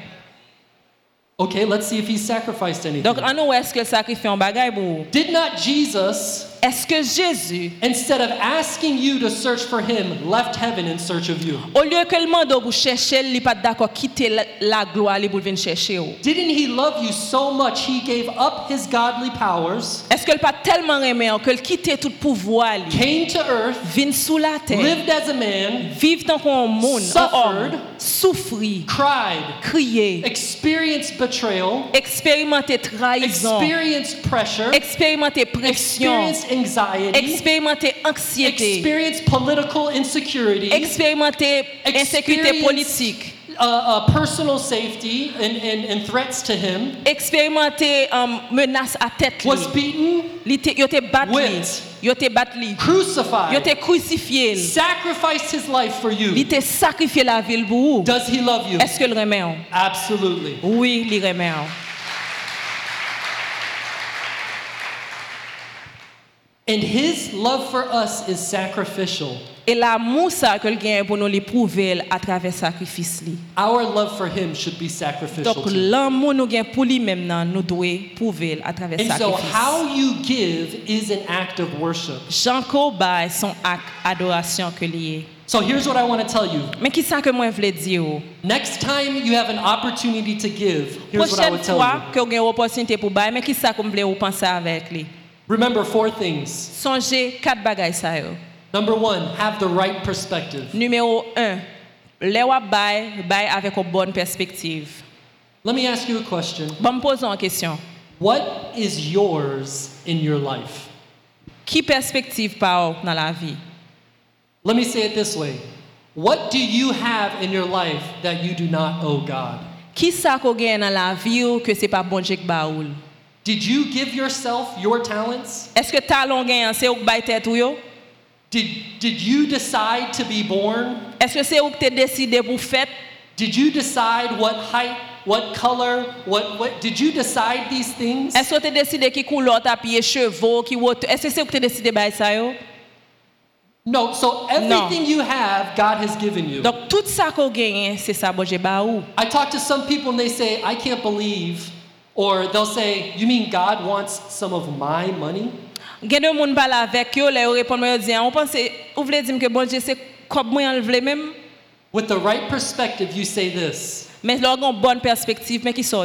[SPEAKER 2] Okay, let's see if he sacrificed anything.
[SPEAKER 3] Donc en nous est-ce que sacrifier un bagage pour?
[SPEAKER 2] Did not Jesus,
[SPEAKER 3] Est-ce que Jésus
[SPEAKER 2] instead of asking you to search for him, left heaven in search of you?
[SPEAKER 3] au lieu que le mando pour chercher, il pas d'accord quitter la, la gloire pour venir chercher ou.
[SPEAKER 2] Didn't he love you so much he gave up his godly powers,
[SPEAKER 3] Est-ce que le pas tellement aimé que le quitter tout pouvoir li,
[SPEAKER 2] came to earth,
[SPEAKER 3] vient sous la terre,
[SPEAKER 2] lived as a man,
[SPEAKER 3] vivre tant qu'on monde,
[SPEAKER 2] Suffered.
[SPEAKER 3] homme, souffrir,
[SPEAKER 2] cried,
[SPEAKER 3] crier,
[SPEAKER 2] experienced betrayal,
[SPEAKER 3] expérimenter trahison,
[SPEAKER 2] experienced pressure,
[SPEAKER 3] expérimenter pression,
[SPEAKER 2] experienced anxiety,
[SPEAKER 3] expérimenter anxiété,
[SPEAKER 2] experienced political insecurity,
[SPEAKER 3] expérimenter insécurité
[SPEAKER 2] experience-
[SPEAKER 3] politique,
[SPEAKER 2] uh, uh, personal safety and, and, and threats to him,
[SPEAKER 3] expérimenter um, menace à tête li.
[SPEAKER 2] was beaten,
[SPEAKER 3] Li te, yo te bat li,
[SPEAKER 2] Whipped.
[SPEAKER 3] yo te bat li, yo
[SPEAKER 2] crucified,
[SPEAKER 3] te crucifié, li.
[SPEAKER 2] sacrificed his life for
[SPEAKER 3] li
[SPEAKER 2] you.
[SPEAKER 3] te sacrifié la ville pour vous.
[SPEAKER 2] Does he love you?
[SPEAKER 3] Est-ce que le remet on?
[SPEAKER 2] Absolutely.
[SPEAKER 3] Oui, il remet on.
[SPEAKER 2] And his love for us is sacrificial.
[SPEAKER 3] Et l'amour ça que le gagne pour nous l'éprouver à travers sacrifice li.
[SPEAKER 2] Our love for him should be sacrificial
[SPEAKER 3] Donc
[SPEAKER 2] too.
[SPEAKER 3] l'amour nous gagne pour lui même nan, nous doit prouver à travers
[SPEAKER 2] And so
[SPEAKER 3] sacrifice.
[SPEAKER 2] how you give is an act of worship.
[SPEAKER 3] Jean Corbay son acte adoration que lié.
[SPEAKER 2] So here's what I want to tell you.
[SPEAKER 3] Mais qui ça que moi voulais dire?
[SPEAKER 2] Next time you have an opportunity to give, here's what I
[SPEAKER 3] Prochaine
[SPEAKER 2] would tell
[SPEAKER 3] fois
[SPEAKER 2] you.
[SPEAKER 3] que vous avez une opportunité pour bailler, mais qui ça que vous voulez vous penser avec lui?
[SPEAKER 2] Remember four things.
[SPEAKER 3] Songez quatre bagages ça yo.
[SPEAKER 2] Number one, have the right perspective.
[SPEAKER 3] Numéro un, les wap bail, bail avec une bonne perspective.
[SPEAKER 2] Let me ask you a question.
[SPEAKER 3] Bon, me poser une question.
[SPEAKER 2] What is yours in your life?
[SPEAKER 3] Qui perspective par dans la vie?
[SPEAKER 2] Let me say it this way. What do you have in your life that you do not owe God?
[SPEAKER 3] Qui ça qu'on gagne dans la vie ou que c'est pas bon Dieu qui baoul?
[SPEAKER 2] Did you give yourself your talents?
[SPEAKER 3] Est-ce que talon gagne c'est ou bail tête ou yo?
[SPEAKER 2] Did, did you decide to be born?
[SPEAKER 3] Est-ce que c'est ou que tu décidé pour faire?
[SPEAKER 2] Did you decide what height, what color, what, what, did you decide these things?
[SPEAKER 3] Est-ce que tu décidé qui couleur ta pied cheveux qui hauteur? Est-ce que c'est ou que tu décidé bail ça yo?
[SPEAKER 2] No, so everything you have, God has given you.
[SPEAKER 3] Donc tout ça qu'on gagne c'est ça bon Dieu baou.
[SPEAKER 2] I talk to some people and they say, I can't believe, or they'll say, you mean God wants some of my money?
[SPEAKER 3] Gen de moun parle avec yo, les répondent moi dire, on pense ou voulez dire que bon Dieu c'est comme moi en vle même,
[SPEAKER 2] With the right perspective, you say this.
[SPEAKER 3] mais leur gon bonne perspective mais qui sont dit.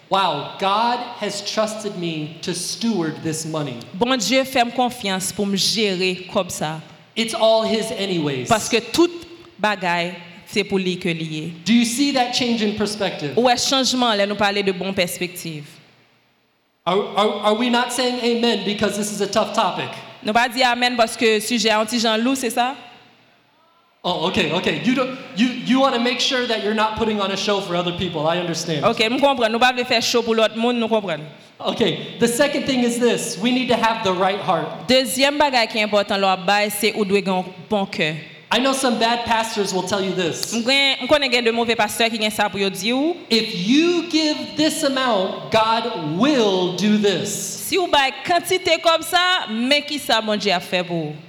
[SPEAKER 2] wow, God has trusted me to steward this money.
[SPEAKER 3] Bon Dieu fait confiance pour me gérer comme ça.
[SPEAKER 2] It's all his anyways.
[SPEAKER 3] Parce que toute bagaille, c'est pour lui que lié.
[SPEAKER 2] Do you see that change in perspective?
[SPEAKER 3] Ouais, changement, là, nous parler de bonne perspective.
[SPEAKER 2] Are, are, are we not saying amen because this is a tough topic?
[SPEAKER 3] Nous pas dire amen parce que sujet anti Jean Loup, c'est ça?
[SPEAKER 2] Oh, okay, okay. You don't, you you want to make sure that you're not putting on a show for other people. I understand.
[SPEAKER 3] OK, nous comprenons. Nous pas faire show pour l'autre monde, nous comprenons.
[SPEAKER 2] Okay. The second thing is this: we need to have the right heart.
[SPEAKER 3] Deuxième bagaille qui est important là bas, c'est ou doit avoir un bon cœur.
[SPEAKER 2] I know some bad pastors will tell you this.
[SPEAKER 3] Je connais de mauvais pasteurs qui ont ça pour dire.
[SPEAKER 2] If you give this amount, God will do this.
[SPEAKER 3] Si vous avez quantité comme ça, mais qui ça bon Dieu a fait pour vous?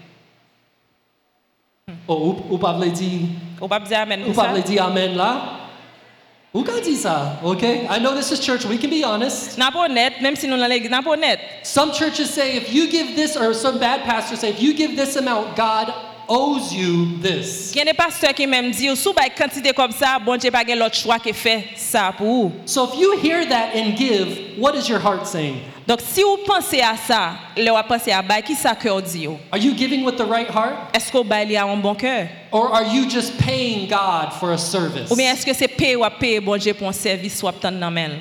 [SPEAKER 2] Oh, ou, ou pas vle dire,
[SPEAKER 3] Ou pas dire amen
[SPEAKER 2] ou
[SPEAKER 3] pour
[SPEAKER 2] pas
[SPEAKER 3] ça?
[SPEAKER 2] vle dire amen là? Ou ka dit ça? Okay. I know this is church. We can be honest.
[SPEAKER 3] N'a pas honnête, même si nous dans l'église, n'a pas honnête.
[SPEAKER 2] Some churches say if you give this, or some bad pastors say if you give this amount, God owes you this.
[SPEAKER 3] Il y a des pasteurs qui même disent, si vous avez quantité comme ça, bon Dieu pas gain l'autre choix qui fait ça pour vous.
[SPEAKER 2] So if you hear that and give, what is your heart saying?
[SPEAKER 3] Donc si vous pensez à ça, le vous pensez à bail, qui ça cœur dit?
[SPEAKER 2] Are you giving with the right heart?
[SPEAKER 3] Est-ce que vous bail a un bon cœur?
[SPEAKER 2] Or are you just paying God for a service?
[SPEAKER 3] Ou bien est-ce que c'est payer ou payer bon Dieu pour un service ou obtenir dans main?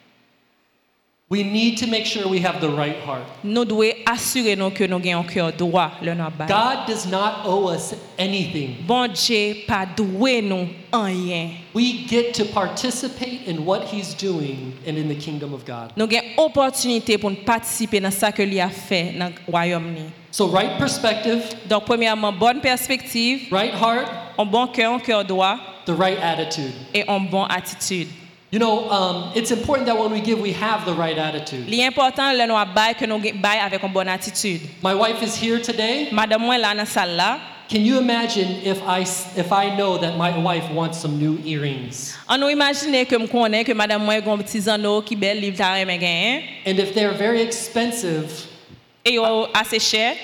[SPEAKER 2] We need to make sure we have the right heart.
[SPEAKER 3] Nous devons assurer nous que nous avons un cœur droit le nous bail.
[SPEAKER 2] God does not owe us anything.
[SPEAKER 3] Bon Dieu pas doué nous rien.
[SPEAKER 2] We get to participate in what he's doing and in the kingdom of God.
[SPEAKER 3] Nous avons opportunité pour participer dans ça que lui a fait dans le royaume ni.
[SPEAKER 2] So right perspective,
[SPEAKER 3] Donc premièrement bonne perspective,
[SPEAKER 2] right heart,
[SPEAKER 3] un bon cœur, un cœur droit
[SPEAKER 2] the right attitude.
[SPEAKER 3] et une bonne attitude.
[SPEAKER 2] You know, um, it's important that when we give, we have the right attitude.
[SPEAKER 3] L'important le nous bail que nous bail avec une bonne attitude.
[SPEAKER 2] My wife is here today.
[SPEAKER 3] Madame moi là dans salle là.
[SPEAKER 2] Can you imagine if I if I know that my wife wants some new earrings?
[SPEAKER 3] On nous imaginer que me connais que madame moi gon petit anneau qui belle livre ta remen gain
[SPEAKER 2] And if they're very expensive,
[SPEAKER 3] et yo assez cher.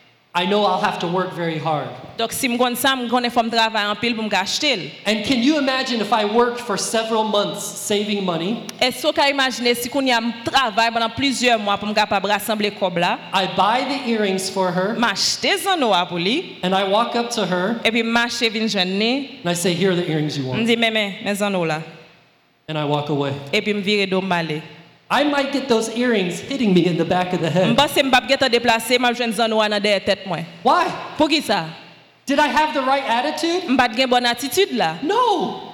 [SPEAKER 2] I know I'll have to work very hard.
[SPEAKER 3] Donc si me connais ça, me connais faut me travailler en pile pour me acheter.
[SPEAKER 2] And can you imagine if I worked for several months saving money?
[SPEAKER 3] Est-ce que vous imaginer si qu'on y a travail pendant plusieurs mois pour me capable rassembler cob là?
[SPEAKER 2] I buy the earrings for her,
[SPEAKER 3] M'acheter anneau pour lui
[SPEAKER 2] and I walk up to her,
[SPEAKER 3] et puis marcher vinn joindre.
[SPEAKER 2] and I say, "Here are the earrings you
[SPEAKER 3] Me
[SPEAKER 2] want,"
[SPEAKER 3] dit mais mais mes anneaux là
[SPEAKER 2] and I walk away.
[SPEAKER 3] et puis me virer do m'aller.
[SPEAKER 2] I might get those earrings hitting me in the back of the head.
[SPEAKER 3] M'passe m'pa geta déplacer, m'a joindre anneau dans derrière tête moi.
[SPEAKER 2] Why?
[SPEAKER 3] Pour qui ça?
[SPEAKER 2] Did I have the right attitude?
[SPEAKER 3] M'pa gen bonne attitude là.
[SPEAKER 2] No.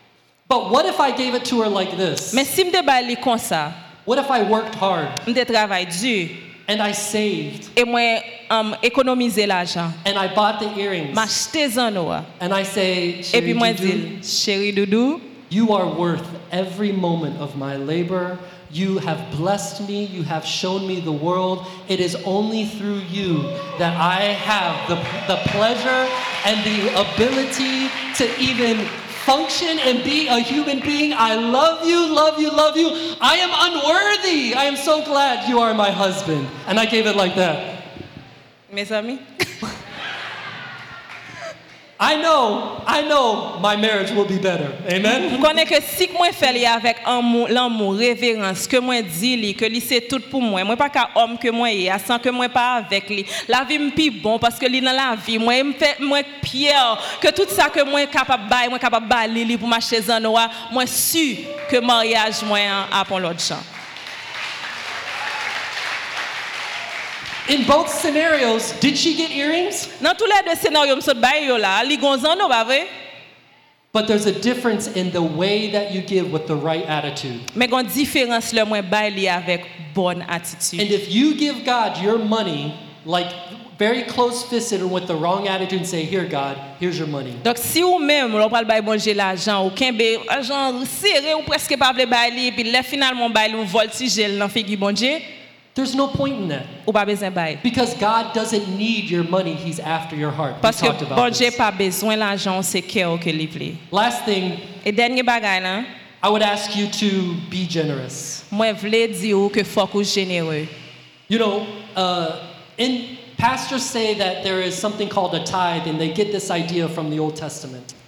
[SPEAKER 2] But what if I gave it to her like this?
[SPEAKER 3] Mais si m'te ba li comme ça,
[SPEAKER 2] What if I worked hard
[SPEAKER 3] m'te travail dur
[SPEAKER 2] and I saved
[SPEAKER 3] et moi um, économiser l'argent.
[SPEAKER 2] and I bought the earrings
[SPEAKER 3] M'acheter anneau
[SPEAKER 2] and I say,
[SPEAKER 3] et puis
[SPEAKER 2] "Chérie
[SPEAKER 3] moi
[SPEAKER 2] Doudou,
[SPEAKER 3] dire chérie doudou,
[SPEAKER 2] you are worth every moment of my labor. You have blessed me. You have shown me the world. It is only through you that I have the, the pleasure and the ability to even function and be a human being. I love you, love you, love you. I am unworthy. I am so glad you are my husband." And I gave it like that.
[SPEAKER 3] mes amis.
[SPEAKER 2] I know, I know my marriage will be better. Amen.
[SPEAKER 3] Je connais que si moi fais li avec amour, l'amour, révérence, que moi dis li, que li c'est tout pour moi. Moi pas qu'un homme que moi est, sans que moi pas avec li. La vie me pi bon parce que li dans la vie, moi me fait moi Pierre que tout ça que moi capable bail, moi capable bail li pour m'acheter zanoa, moi sûr que mariage moi a pour l'autre champ.
[SPEAKER 2] In both scenarios, did she get earrings?
[SPEAKER 3] Dans tous les deux scénarios, m'sot bail yo là, li gon zano pas vrai?
[SPEAKER 2] But there's a difference in the way that you give with the right attitude.
[SPEAKER 3] Mais gon différence le moi bail li avec bonne
[SPEAKER 2] And
[SPEAKER 3] attitude.
[SPEAKER 2] if you give God your money, like very close-fisted and with the wrong attitude, and say, "Here, God, here's your money."
[SPEAKER 3] Donc si ou même on parle bail bon Dieu l'argent ou kembe argent serré ou presque pas vle bail li puis là finalement bail ou voltige dans figi bon Dieu.
[SPEAKER 2] There's no point in that.
[SPEAKER 3] Ou pas besoin bail.
[SPEAKER 2] Because God doesn't need your money, He's after your heart. We
[SPEAKER 3] Parce que
[SPEAKER 2] talked
[SPEAKER 3] bon
[SPEAKER 2] about
[SPEAKER 3] Dieu
[SPEAKER 2] this.
[SPEAKER 3] pas besoin l'argent, c'est cœur que li vle.
[SPEAKER 2] Last thing,
[SPEAKER 3] Et dernier bagay là,
[SPEAKER 2] I would ask you to be generous.
[SPEAKER 3] moi vle dire que faut que généreux.
[SPEAKER 2] You know, uh, in pastors say that there is something called a tithe, and they get this idea from the Old Testament.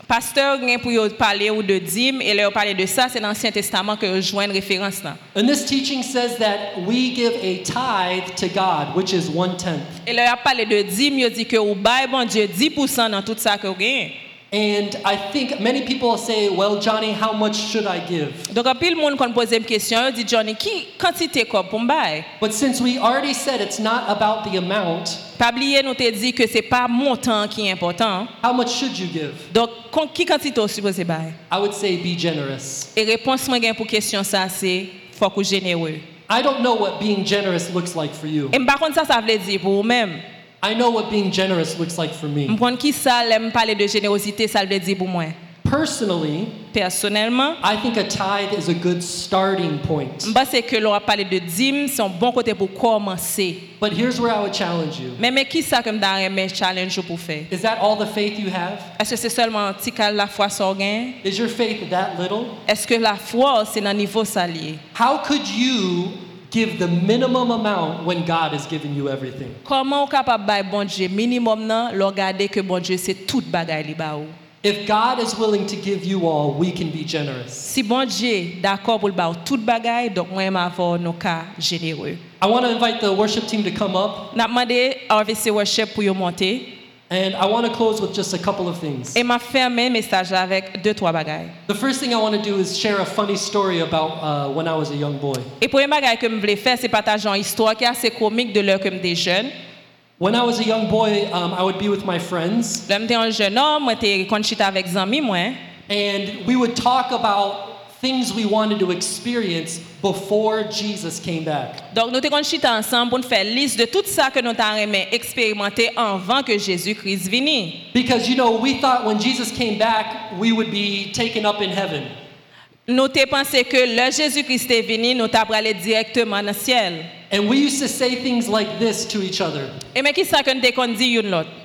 [SPEAKER 3] Pasteur gen pour yo parler ou de dîme et leur parler de ça, c'est dans l'Ancien Testament que yo joignent référence là.
[SPEAKER 2] And this teaching says that we give a tithe to God, which is one tenth.
[SPEAKER 3] Et leur a parlé de dîme, yo dit que ou bail bon Dieu dix pour cent dans tout ça que vous gagnez.
[SPEAKER 2] And I think many people say, well, Johnny, how much should I give?
[SPEAKER 3] Donc en pile monde qu'on pose une question, yo dit Johnny, qui quantité quoi pour m'bail?
[SPEAKER 2] But since we already said it's not about the amount,
[SPEAKER 3] Pas oublier nous te dit que c'est pas montant qui est important.
[SPEAKER 2] how much should you give?
[SPEAKER 3] Donc con- qui quantité vous supposé bail?
[SPEAKER 2] I would say be generous.
[SPEAKER 3] Et réponse moi gain pour question ça c'est faut que généreux.
[SPEAKER 2] I don't know what being generous looks like for you.
[SPEAKER 3] Et par contre ça ça veut dire pour vous même.
[SPEAKER 2] I know what being generous looks like for me.
[SPEAKER 3] M'prendre qui ça l'aime parler de générosité ça veut dire pour moi.
[SPEAKER 2] Personally,
[SPEAKER 3] Personnellement,
[SPEAKER 2] I think a tithe is a good starting point.
[SPEAKER 3] je que l'on a parlé de dîme, c'est un bon côté pour commencer.
[SPEAKER 2] But here's where I would challenge you.
[SPEAKER 3] Mais mais qui ça comme dans un challenge pour faire?
[SPEAKER 2] Is that all the faith you have?
[SPEAKER 3] Est-ce que c'est seulement un petit cas la foi sans gain?
[SPEAKER 2] Is your faith that little?
[SPEAKER 3] Est-ce que la foi c'est dans niveau salier?
[SPEAKER 2] How could you give the minimum amount when God has given you everything?
[SPEAKER 3] Comment on capable bail bon Dieu minimum nan, le regarder que bon Dieu c'est toute bagaille li ba ou.
[SPEAKER 2] If God is willing to give you all, we can be generous.
[SPEAKER 3] Si bon Dieu d'accord pour le ba toute bagaille, donc moi m'a avoir nos cas généreux.
[SPEAKER 2] I want to invite the worship team to come up,
[SPEAKER 3] N'a demandé R V C worship pour yo monter
[SPEAKER 2] and I want to close with just a couple of things.
[SPEAKER 3] et m'a fermé message là avec deux trois bagailles.
[SPEAKER 2] The first thing I want to do is share a funny story about uh, when I was a young boy.
[SPEAKER 3] Et premier bagaille que me voulais faire c'est partager une histoire qui est assez comique de l'heure que me des jeunes.
[SPEAKER 2] When I was a young boy, um, I would be with my friends,
[SPEAKER 3] Là, j'étais un jeune homme, moi j'étais conchita avec amis moi.
[SPEAKER 2] and we would talk about things we wanted to experience before Jesus came back.
[SPEAKER 3] Donc nous t'es conchita ensemble pour nous faire liste de tout ça que nous t'avons expérimenté avant que Jésus-Christ vienne.
[SPEAKER 2] Because, you know, we thought when Jesus came back, we would be taken up in heaven.
[SPEAKER 3] Nous t'ai pensé que le Jésus-Christ est venu, nous t'avons aller directement dans le ciel.
[SPEAKER 2] And we used to say things like this to each other.
[SPEAKER 3] Et mais qui ça que nous t'ai qu'on dit une l'autre?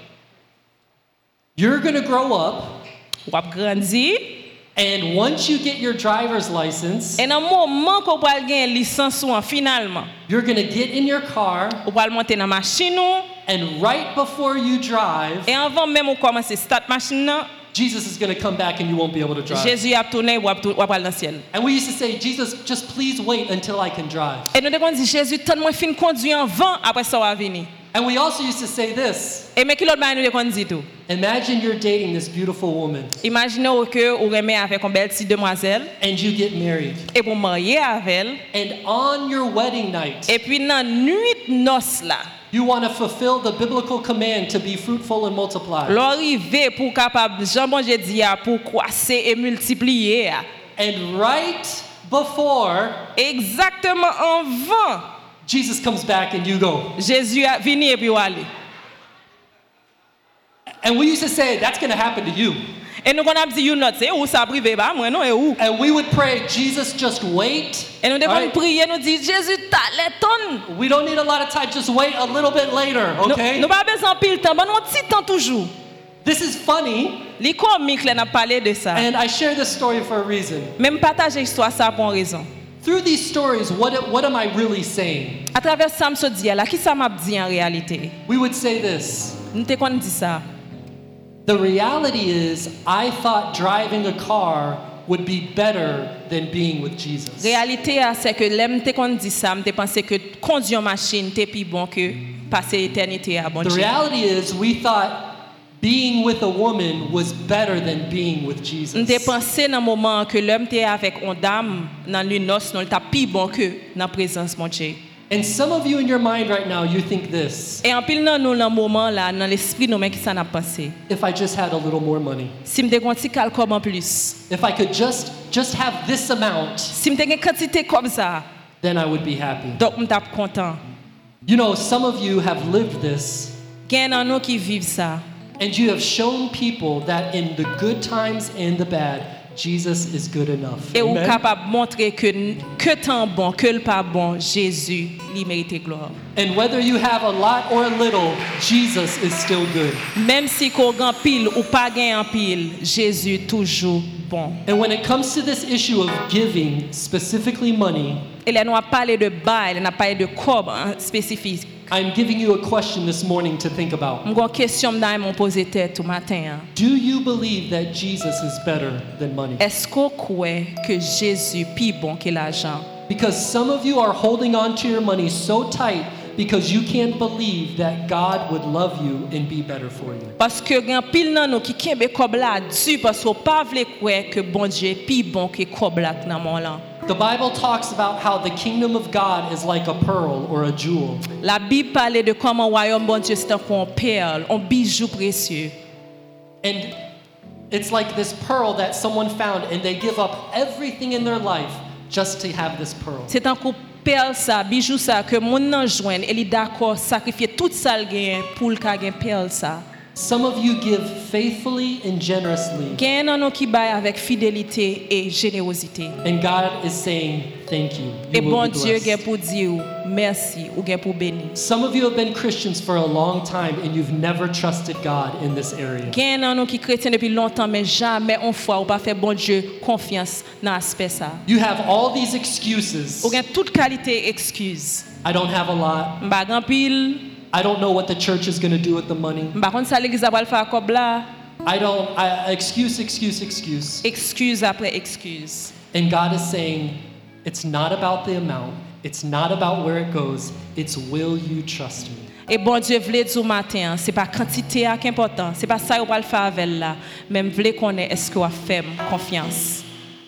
[SPEAKER 2] You're going to grow up,
[SPEAKER 3] Ou ap grandi,
[SPEAKER 2] and once you get your driver's license,
[SPEAKER 3] et dans le moment qu'on va gagner licence ou en finalement,
[SPEAKER 2] you're going to get in your car,
[SPEAKER 3] ou va monter dans machine ou,
[SPEAKER 2] and right before you drive,
[SPEAKER 3] et avant même ou commencer start machine nan,
[SPEAKER 2] Jesus is going to come back and you won't be able to drive.
[SPEAKER 3] Jésus a tourné ou ap tou- ou ap aller dans le ciel.
[SPEAKER 2] And we used to say, Jesus, just please wait until I can drive.
[SPEAKER 3] Et nous devons dire Jésus tant moi fin conduire en vent après ça va venir.
[SPEAKER 2] And we also used to say this.
[SPEAKER 3] Et mais qui l'autre bail nous devons dire tout.
[SPEAKER 2] Imagine you're dating this beautiful woman,
[SPEAKER 3] Imaginez que vous remet avec une belle petite demoiselle
[SPEAKER 2] and you get married.
[SPEAKER 3] et vous mariez avec elle
[SPEAKER 2] And on your wedding night,
[SPEAKER 3] et puis dans nuit noce là,
[SPEAKER 2] you want to fulfill the biblical command to be fruitful and multiply.
[SPEAKER 3] l'arrivée pour capable Jean bon Dieu dit a pour croître et multiplier.
[SPEAKER 2] And right before
[SPEAKER 3] Exactement en vent,
[SPEAKER 2] Jesus comes back and you go.
[SPEAKER 3] Jésus a venu et puis ou aller.
[SPEAKER 2] And we used to say, that's going to happen to you.
[SPEAKER 3] Et nous qu'on a dit you not c'est où ça privé ba moi non et où.
[SPEAKER 2] And we would pray, Jesus, just wait.
[SPEAKER 3] Et nous devons
[SPEAKER 2] Right?
[SPEAKER 3] prier nous dire Jésus t'a les tonnes.
[SPEAKER 2] We don't need a lot of time, just wait a little bit later, okay?
[SPEAKER 3] Nous pas besoin pile temps, bon un petit temps toujours.
[SPEAKER 2] This is funny,
[SPEAKER 3] Les comiques là n'a parlé de ça.
[SPEAKER 2] and I share this story for a reason.
[SPEAKER 3] Même partager histoire ça pour une raison.
[SPEAKER 2] Through these stories, what, what am I really saying?
[SPEAKER 3] À travers ça me dit là, qui ça m'a dit en réalité?
[SPEAKER 2] We would say this.
[SPEAKER 3] Nous te qu'on dit ça.
[SPEAKER 2] The reality is, I thought driving a car would be better than being with Jesus.
[SPEAKER 3] Réalité ah, c'est que l'aime te qu'on dit ça, me te pensé que conduire une machine t'es plus bon que passer éternité à bon
[SPEAKER 2] The
[SPEAKER 3] Dieu.
[SPEAKER 2] reality is, we thought being with a woman was better than being with Jesus.
[SPEAKER 3] Nous te pensé dans moment que l'homme t'es avec une dame dans le noce, non t'a plus bon que dans présence mon Dieu.
[SPEAKER 2] And some of you in your mind right now, you think this:
[SPEAKER 3] Et en pile dans nous dans moment là, dans l'esprit nous mais qui ça n'a pensé.
[SPEAKER 2] if I just had a little more money,
[SPEAKER 3] Si me te gonti cal comme en plus.
[SPEAKER 2] if I could just just have this amount,
[SPEAKER 3] Si me te gen quantité comme ça,
[SPEAKER 2] then I would be happy.
[SPEAKER 3] donc me tape content.
[SPEAKER 2] You know, some of you have lived this,
[SPEAKER 3] Gen dans nous qui vivent ça.
[SPEAKER 2] and you have shown people that in the good times and the bad, Jesus is good enough.
[SPEAKER 3] Et ou
[SPEAKER 2] Amen?
[SPEAKER 3] capable montrer que que tant bon, que le pas bon, Jésus lui mérite gloire.
[SPEAKER 2] And whether you have a lot or a little, Jesus is still good.
[SPEAKER 3] Même si qu'on gagne pile ou pas gagne en pile, Jésus toujours bon.
[SPEAKER 2] And when it comes to this issue of giving, specifically money,
[SPEAKER 3] Et là nous a parlé de bail, on a parlé de cob hein, spécifique.
[SPEAKER 2] I'm giving you a question this morning to think about.
[SPEAKER 3] M'gon question m'da m'on poser tête tout matin.
[SPEAKER 2] Do you believe that Jesus is better than money?
[SPEAKER 3] Est-ce qu'on croit que Jésus plus bon que l'argent?
[SPEAKER 2] Because some of you are holding on to your money so tight because you can't believe that God would love you and be better for you.
[SPEAKER 3] Parce que gen pile nan nou ki kembe kob la du parce qu'on pas vle croire que bon Dieu plus bon que kob la nan mon lan.
[SPEAKER 2] The Bible talks about how the kingdom of God is like a pearl or a jewel.
[SPEAKER 3] La Bible parle de comment royaume bon Dieu c'est un perle, un bijou précieux.
[SPEAKER 2] And it's like this pearl that someone found and they give up everything in their life just to have this pearl.
[SPEAKER 3] C'est un coup perle ça, bijou ça que moun nan joine et li d'accord sacrifier tout ça l gen pour l ka gen perle ça.
[SPEAKER 2] Some of you give faithfully and generously.
[SPEAKER 3] Gen nan nou ki bay avec fidélité et générosité.
[SPEAKER 2] And God is saying, thank you. You
[SPEAKER 3] Et
[SPEAKER 2] will
[SPEAKER 3] bon
[SPEAKER 2] be
[SPEAKER 3] Dieu
[SPEAKER 2] blessed.
[SPEAKER 3] gen pour dire merci ou gen pour bénir.
[SPEAKER 2] Some of you have been Christians for a long time and you've never trusted God in this area.
[SPEAKER 3] Gen nan nou ki chrétien depuis longtemps mais jamais on fois ou pas fait bon Dieu confiance dans aspect ça.
[SPEAKER 2] You have all these excuses.
[SPEAKER 3] Ou gen toute qualité excuse.
[SPEAKER 2] I don't have a lot.
[SPEAKER 3] M'ba gan pile,
[SPEAKER 2] I don't know what the church is going to do with the money.
[SPEAKER 3] m'ba konn sa l'église a pral faire kob la.
[SPEAKER 2] I don't, I, excuse, excuse, excuse.
[SPEAKER 3] Excuse après excuse.
[SPEAKER 2] And God is saying, it's not about the amount. It's not about where it goes. It's will you trust me?
[SPEAKER 3] Et bon Dieu vle dire matin, c'est pas quantité qui est important, c'est pas ça ou pral faire avec là, même vle connaître est-ce que ou fait confiance.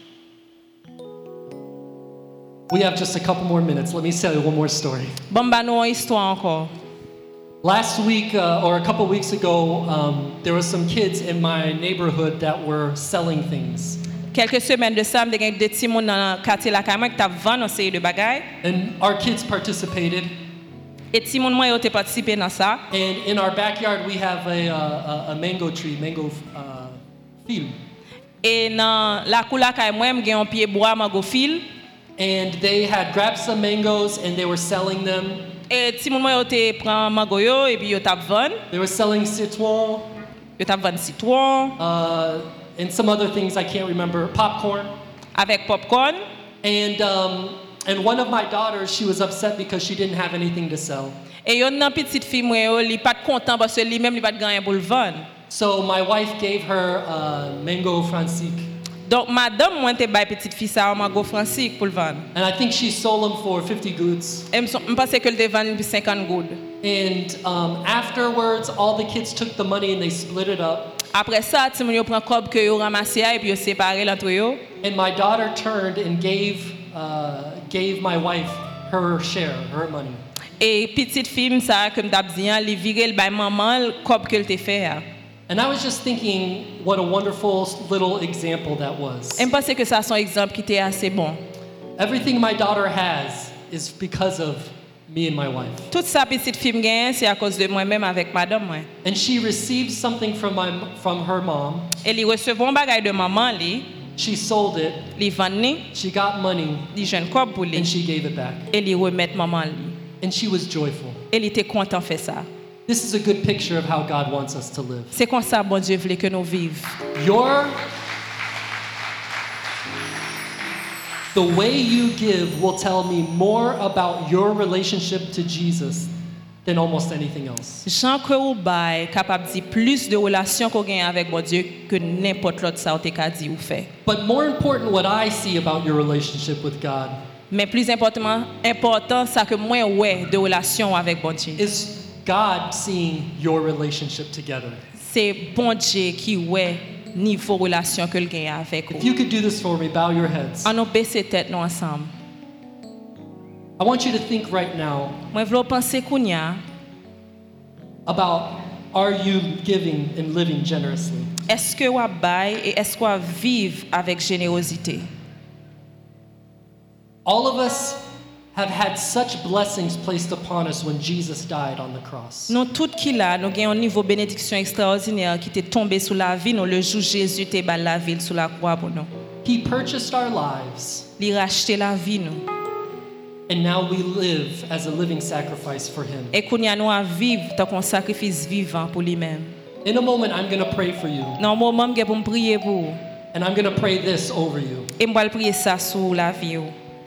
[SPEAKER 2] We have just a couple more minutes. Let me tell you one more story.
[SPEAKER 3] Bon ba nou une histoire encore.
[SPEAKER 2] Last week, uh, or a couple weeks ago, um, there were some kids in my neighborhood that were selling things.
[SPEAKER 3] Quelques semaines de ça, m'te gen des petits moun dans quartier la Caille qui t'a vendre une série de bagages.
[SPEAKER 2] And our kids participated.
[SPEAKER 3] Et petits moun moi yo te participé dans ça.
[SPEAKER 2] And in our backyard, we have a, uh, a, a mango tree, mango uh, field.
[SPEAKER 3] Et dans la cour la Caille moi m'gen un pied bois mango fil.
[SPEAKER 2] And they had grabbed some mangoes and they were selling them.
[SPEAKER 3] Et petits moun moi yo te prend mango yo et puis yo t'a vendre.
[SPEAKER 2] They were selling citron
[SPEAKER 3] Yo t'a vendre citron
[SPEAKER 2] uh, and some other things I can't remember, popcorn.
[SPEAKER 3] avec popcorn.
[SPEAKER 2] And, um, and one of my daughters, she was upset because she didn't have anything to sell.
[SPEAKER 3] Et yon nan petite fille moi yo li pas content parce que lui même li pas gagner pour le vendre.
[SPEAKER 2] So my wife gave her uh, mango francique.
[SPEAKER 3] Donc madame moi te bay petite fille ça mango francique pour le vendre.
[SPEAKER 2] And I think she sold them for fifty goods.
[SPEAKER 3] Et me pense que le te vendre pour cinquante goud.
[SPEAKER 2] And um, afterwards, all the kids took the money and they split it up.
[SPEAKER 3] Après ça, ti moun yo prend cob que yo ramassé et puis yo séparé l'entre yo.
[SPEAKER 2] And my daughter turned and gave, uh, gave my wife her share, her money.
[SPEAKER 3] Et petite fille ça comme t'a dit, li viré le bay maman cob que le te fait.
[SPEAKER 2] And I was just thinking what a wonderful little example that was.
[SPEAKER 3] Et me pense que ça son exemple qui était assez bon.
[SPEAKER 2] Everything my daughter has is because of me and my wife.
[SPEAKER 3] Toute sa petite fille gagne c'est à cause de moi-même avec madame moi.
[SPEAKER 2] And she received something from my from her mom.
[SPEAKER 3] Et li recevon bagay de maman li,
[SPEAKER 2] She sold it.
[SPEAKER 3] li vend ni,
[SPEAKER 2] She got money
[SPEAKER 3] li jeune cob pour
[SPEAKER 2] and
[SPEAKER 3] li.
[SPEAKER 2] she gave it back.
[SPEAKER 3] Et li remet maman li.
[SPEAKER 2] And she was joyful.
[SPEAKER 3] Et li était content faire ça.
[SPEAKER 2] This is a good picture of how God wants us to live.
[SPEAKER 3] C'est comme ça bon Dieu voulait que nous vivions.
[SPEAKER 2] Your The way you give will tell me more about your relationship to Jesus than almost anything else.
[SPEAKER 3] Jean que ou bay capable dire plus de relation qu'on gagne avec bon Dieu que n'importe l'autre ça ou te ka dit ou fait.
[SPEAKER 2] But more important, what I see about your relationship with God
[SPEAKER 3] Mais plus important important ça que moi ouais de relation avec bon Dieu.
[SPEAKER 2] is God seeing your relationship together.
[SPEAKER 3] C'est bon Dieu qui ouais niveau relation que le gagne avec
[SPEAKER 2] If
[SPEAKER 3] vous.
[SPEAKER 2] you could do this for me, bow your heads.
[SPEAKER 3] On nous baisser tête nous ensemble.
[SPEAKER 2] I want you to think right now
[SPEAKER 3] Moi vle penser kounya,
[SPEAKER 2] about are you giving and living generously?
[SPEAKER 3] est-ce que ou bay et est-ce qu'on vive avec générosité?
[SPEAKER 2] All of us have had such blessings placed upon us when Jesus died on the cross.
[SPEAKER 3] Nous tout qui là, nous gagnons un niveau bénédiction extraordinaire qui t'est tombé sous la vie, nous le jour Jésus t'est bal la ville sous la croix pour nous.
[SPEAKER 2] He purchased our lives,
[SPEAKER 3] Il racheté la vie nous.
[SPEAKER 2] and now we live as a living sacrifice for Him.
[SPEAKER 3] Et qu'on y a nous à vivre tant qu'on sacrifice vivant pour lui-même.
[SPEAKER 2] In a moment, I'm going to pray for you,
[SPEAKER 3] Dans un moment, je vais pour me prier pour vous.
[SPEAKER 2] and I'm going to pray this over you.
[SPEAKER 3] Et je vais prier ça sur la vie.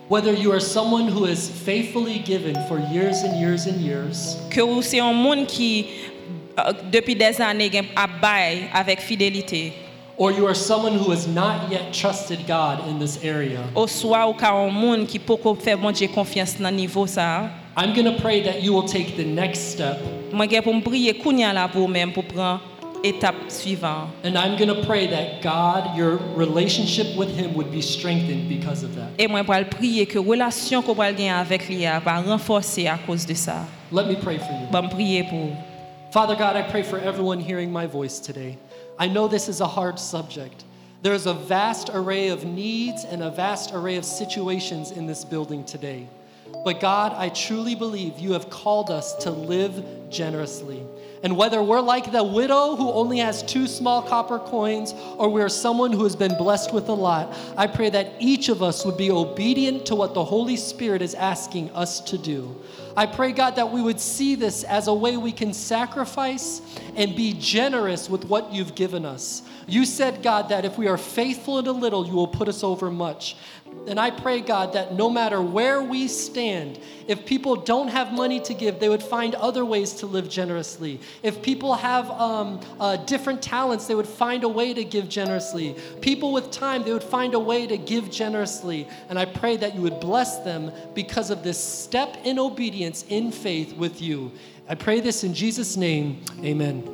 [SPEAKER 2] Whether you are someone who has faithfully given for years and years and years,
[SPEAKER 3] Que ou c'est un monde qui euh, depuis des années gen a bail avec fidélité.
[SPEAKER 2] or you are someone who has not yet trusted God in this area,
[SPEAKER 3] Ou soit ou ka un monde qui poko fait bon Dieu confiance dans niveau ça.
[SPEAKER 2] I'm going to pray that you will take the next step,
[SPEAKER 3] Moi gen pour me prier kounya la pour même pour prendre étape suivante.
[SPEAKER 2] and I'm going to pray that God, your relationship with Him would be strengthened because of that.
[SPEAKER 3] Et moi pour prier que relation qu'on va gagner avec lui a va renforcer à cause de ça.
[SPEAKER 2] Let me pray for you.
[SPEAKER 3] Bon me prier pour.
[SPEAKER 2] Father God, I pray for everyone hearing my voice today. I know this is a hard subject. There is a vast array of needs and a vast array of situations in this building today. But God, I truly believe you have called us to live generously. And whether we're like the widow who only has two small copper coins, or we're someone who has been blessed with a lot, I pray that each of us would be obedient to what the Holy Spirit is asking us to do. I pray, God, that we would see this as a way we can sacrifice and be generous with what you've given us. You said, God, that if we are faithful in a little, you will put us over much. And I pray, God, that no matter where we stand, if people don't have money to give, they would find other ways to live generously. If people have um, uh, different talents, they would find a way to give generously. People with time, they would find a way to give generously. And I pray that you would bless them because of this step in obedience in faith with you. I pray this in Jesus' name. Amen.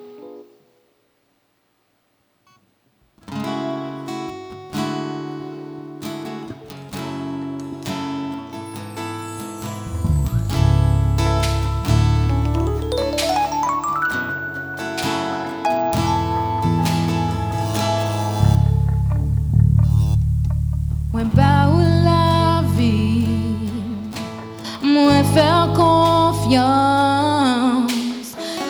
[SPEAKER 4] Mwen pa ou la vie, mwen faire confiance,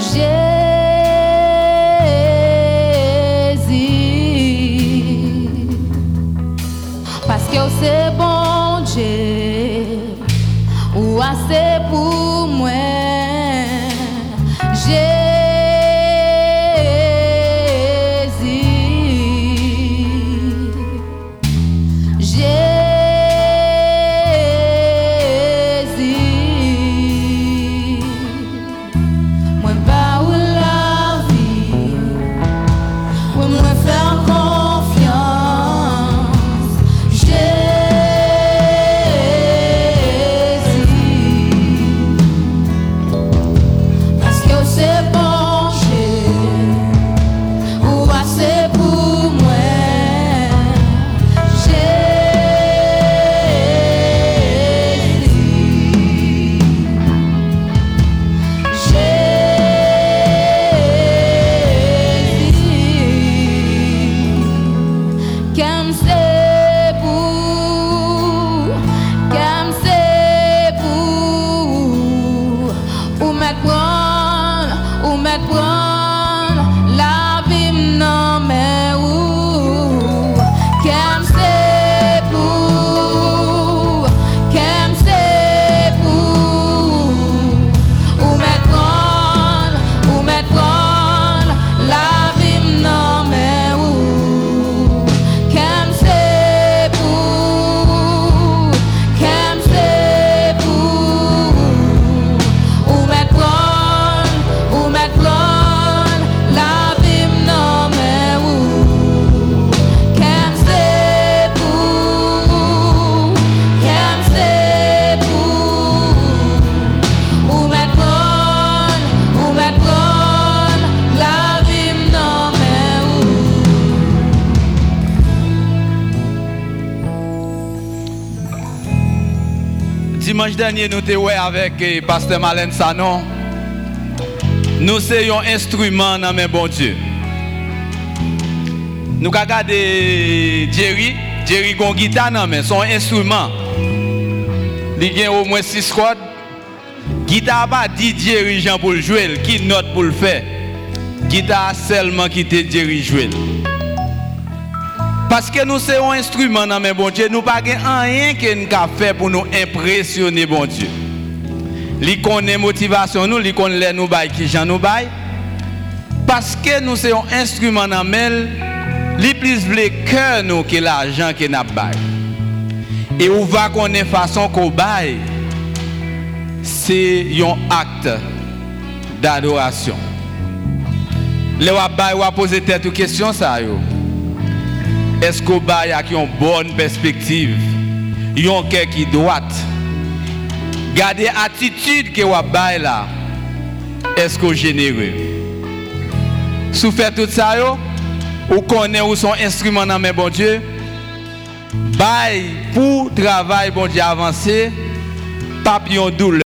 [SPEAKER 4] Jésus. Parce que c'est bon Dieu, ou assez pour moi,
[SPEAKER 5] Dimanche dernier, nous étions avec le pasteur Malène Sanon. Nous sommes un instrument dans mes bon Dieu. Nous avons regardé Jerry. Jerry a une guitare dans mes son instrument. Il a au moins six cordes. Guitare pas dit Jerry Jean pour le jouer, qui note pour le faire. Guitare seulement qui te Jerry jouer. Parce que nous sommes un instrument dans mes bon Dieu, nous n'avons rien que nous avons fait pour nous impressionner bon Dieu. Li connaît motivation nous, li connaît nous bail qui j'en nous bail. Parce que nous sommes un instrument dans mes, li plus vle cœur nous que l'argent que n'a bail. Et on va connaître façon qu'on baille, c'est un acte d'adoration. Le wabay wa poser tête question ça yo. Est-ce qu'on baille avec une bonne perspective, un cœur qui droite? Gardez attitude que wabay là. Est-ce qu'on généreux? Si vous faites tout ça yo, ou connaît où son instrument dans mes bon Dieu, bail pour travail bon Dieu avancer, papillon douleur.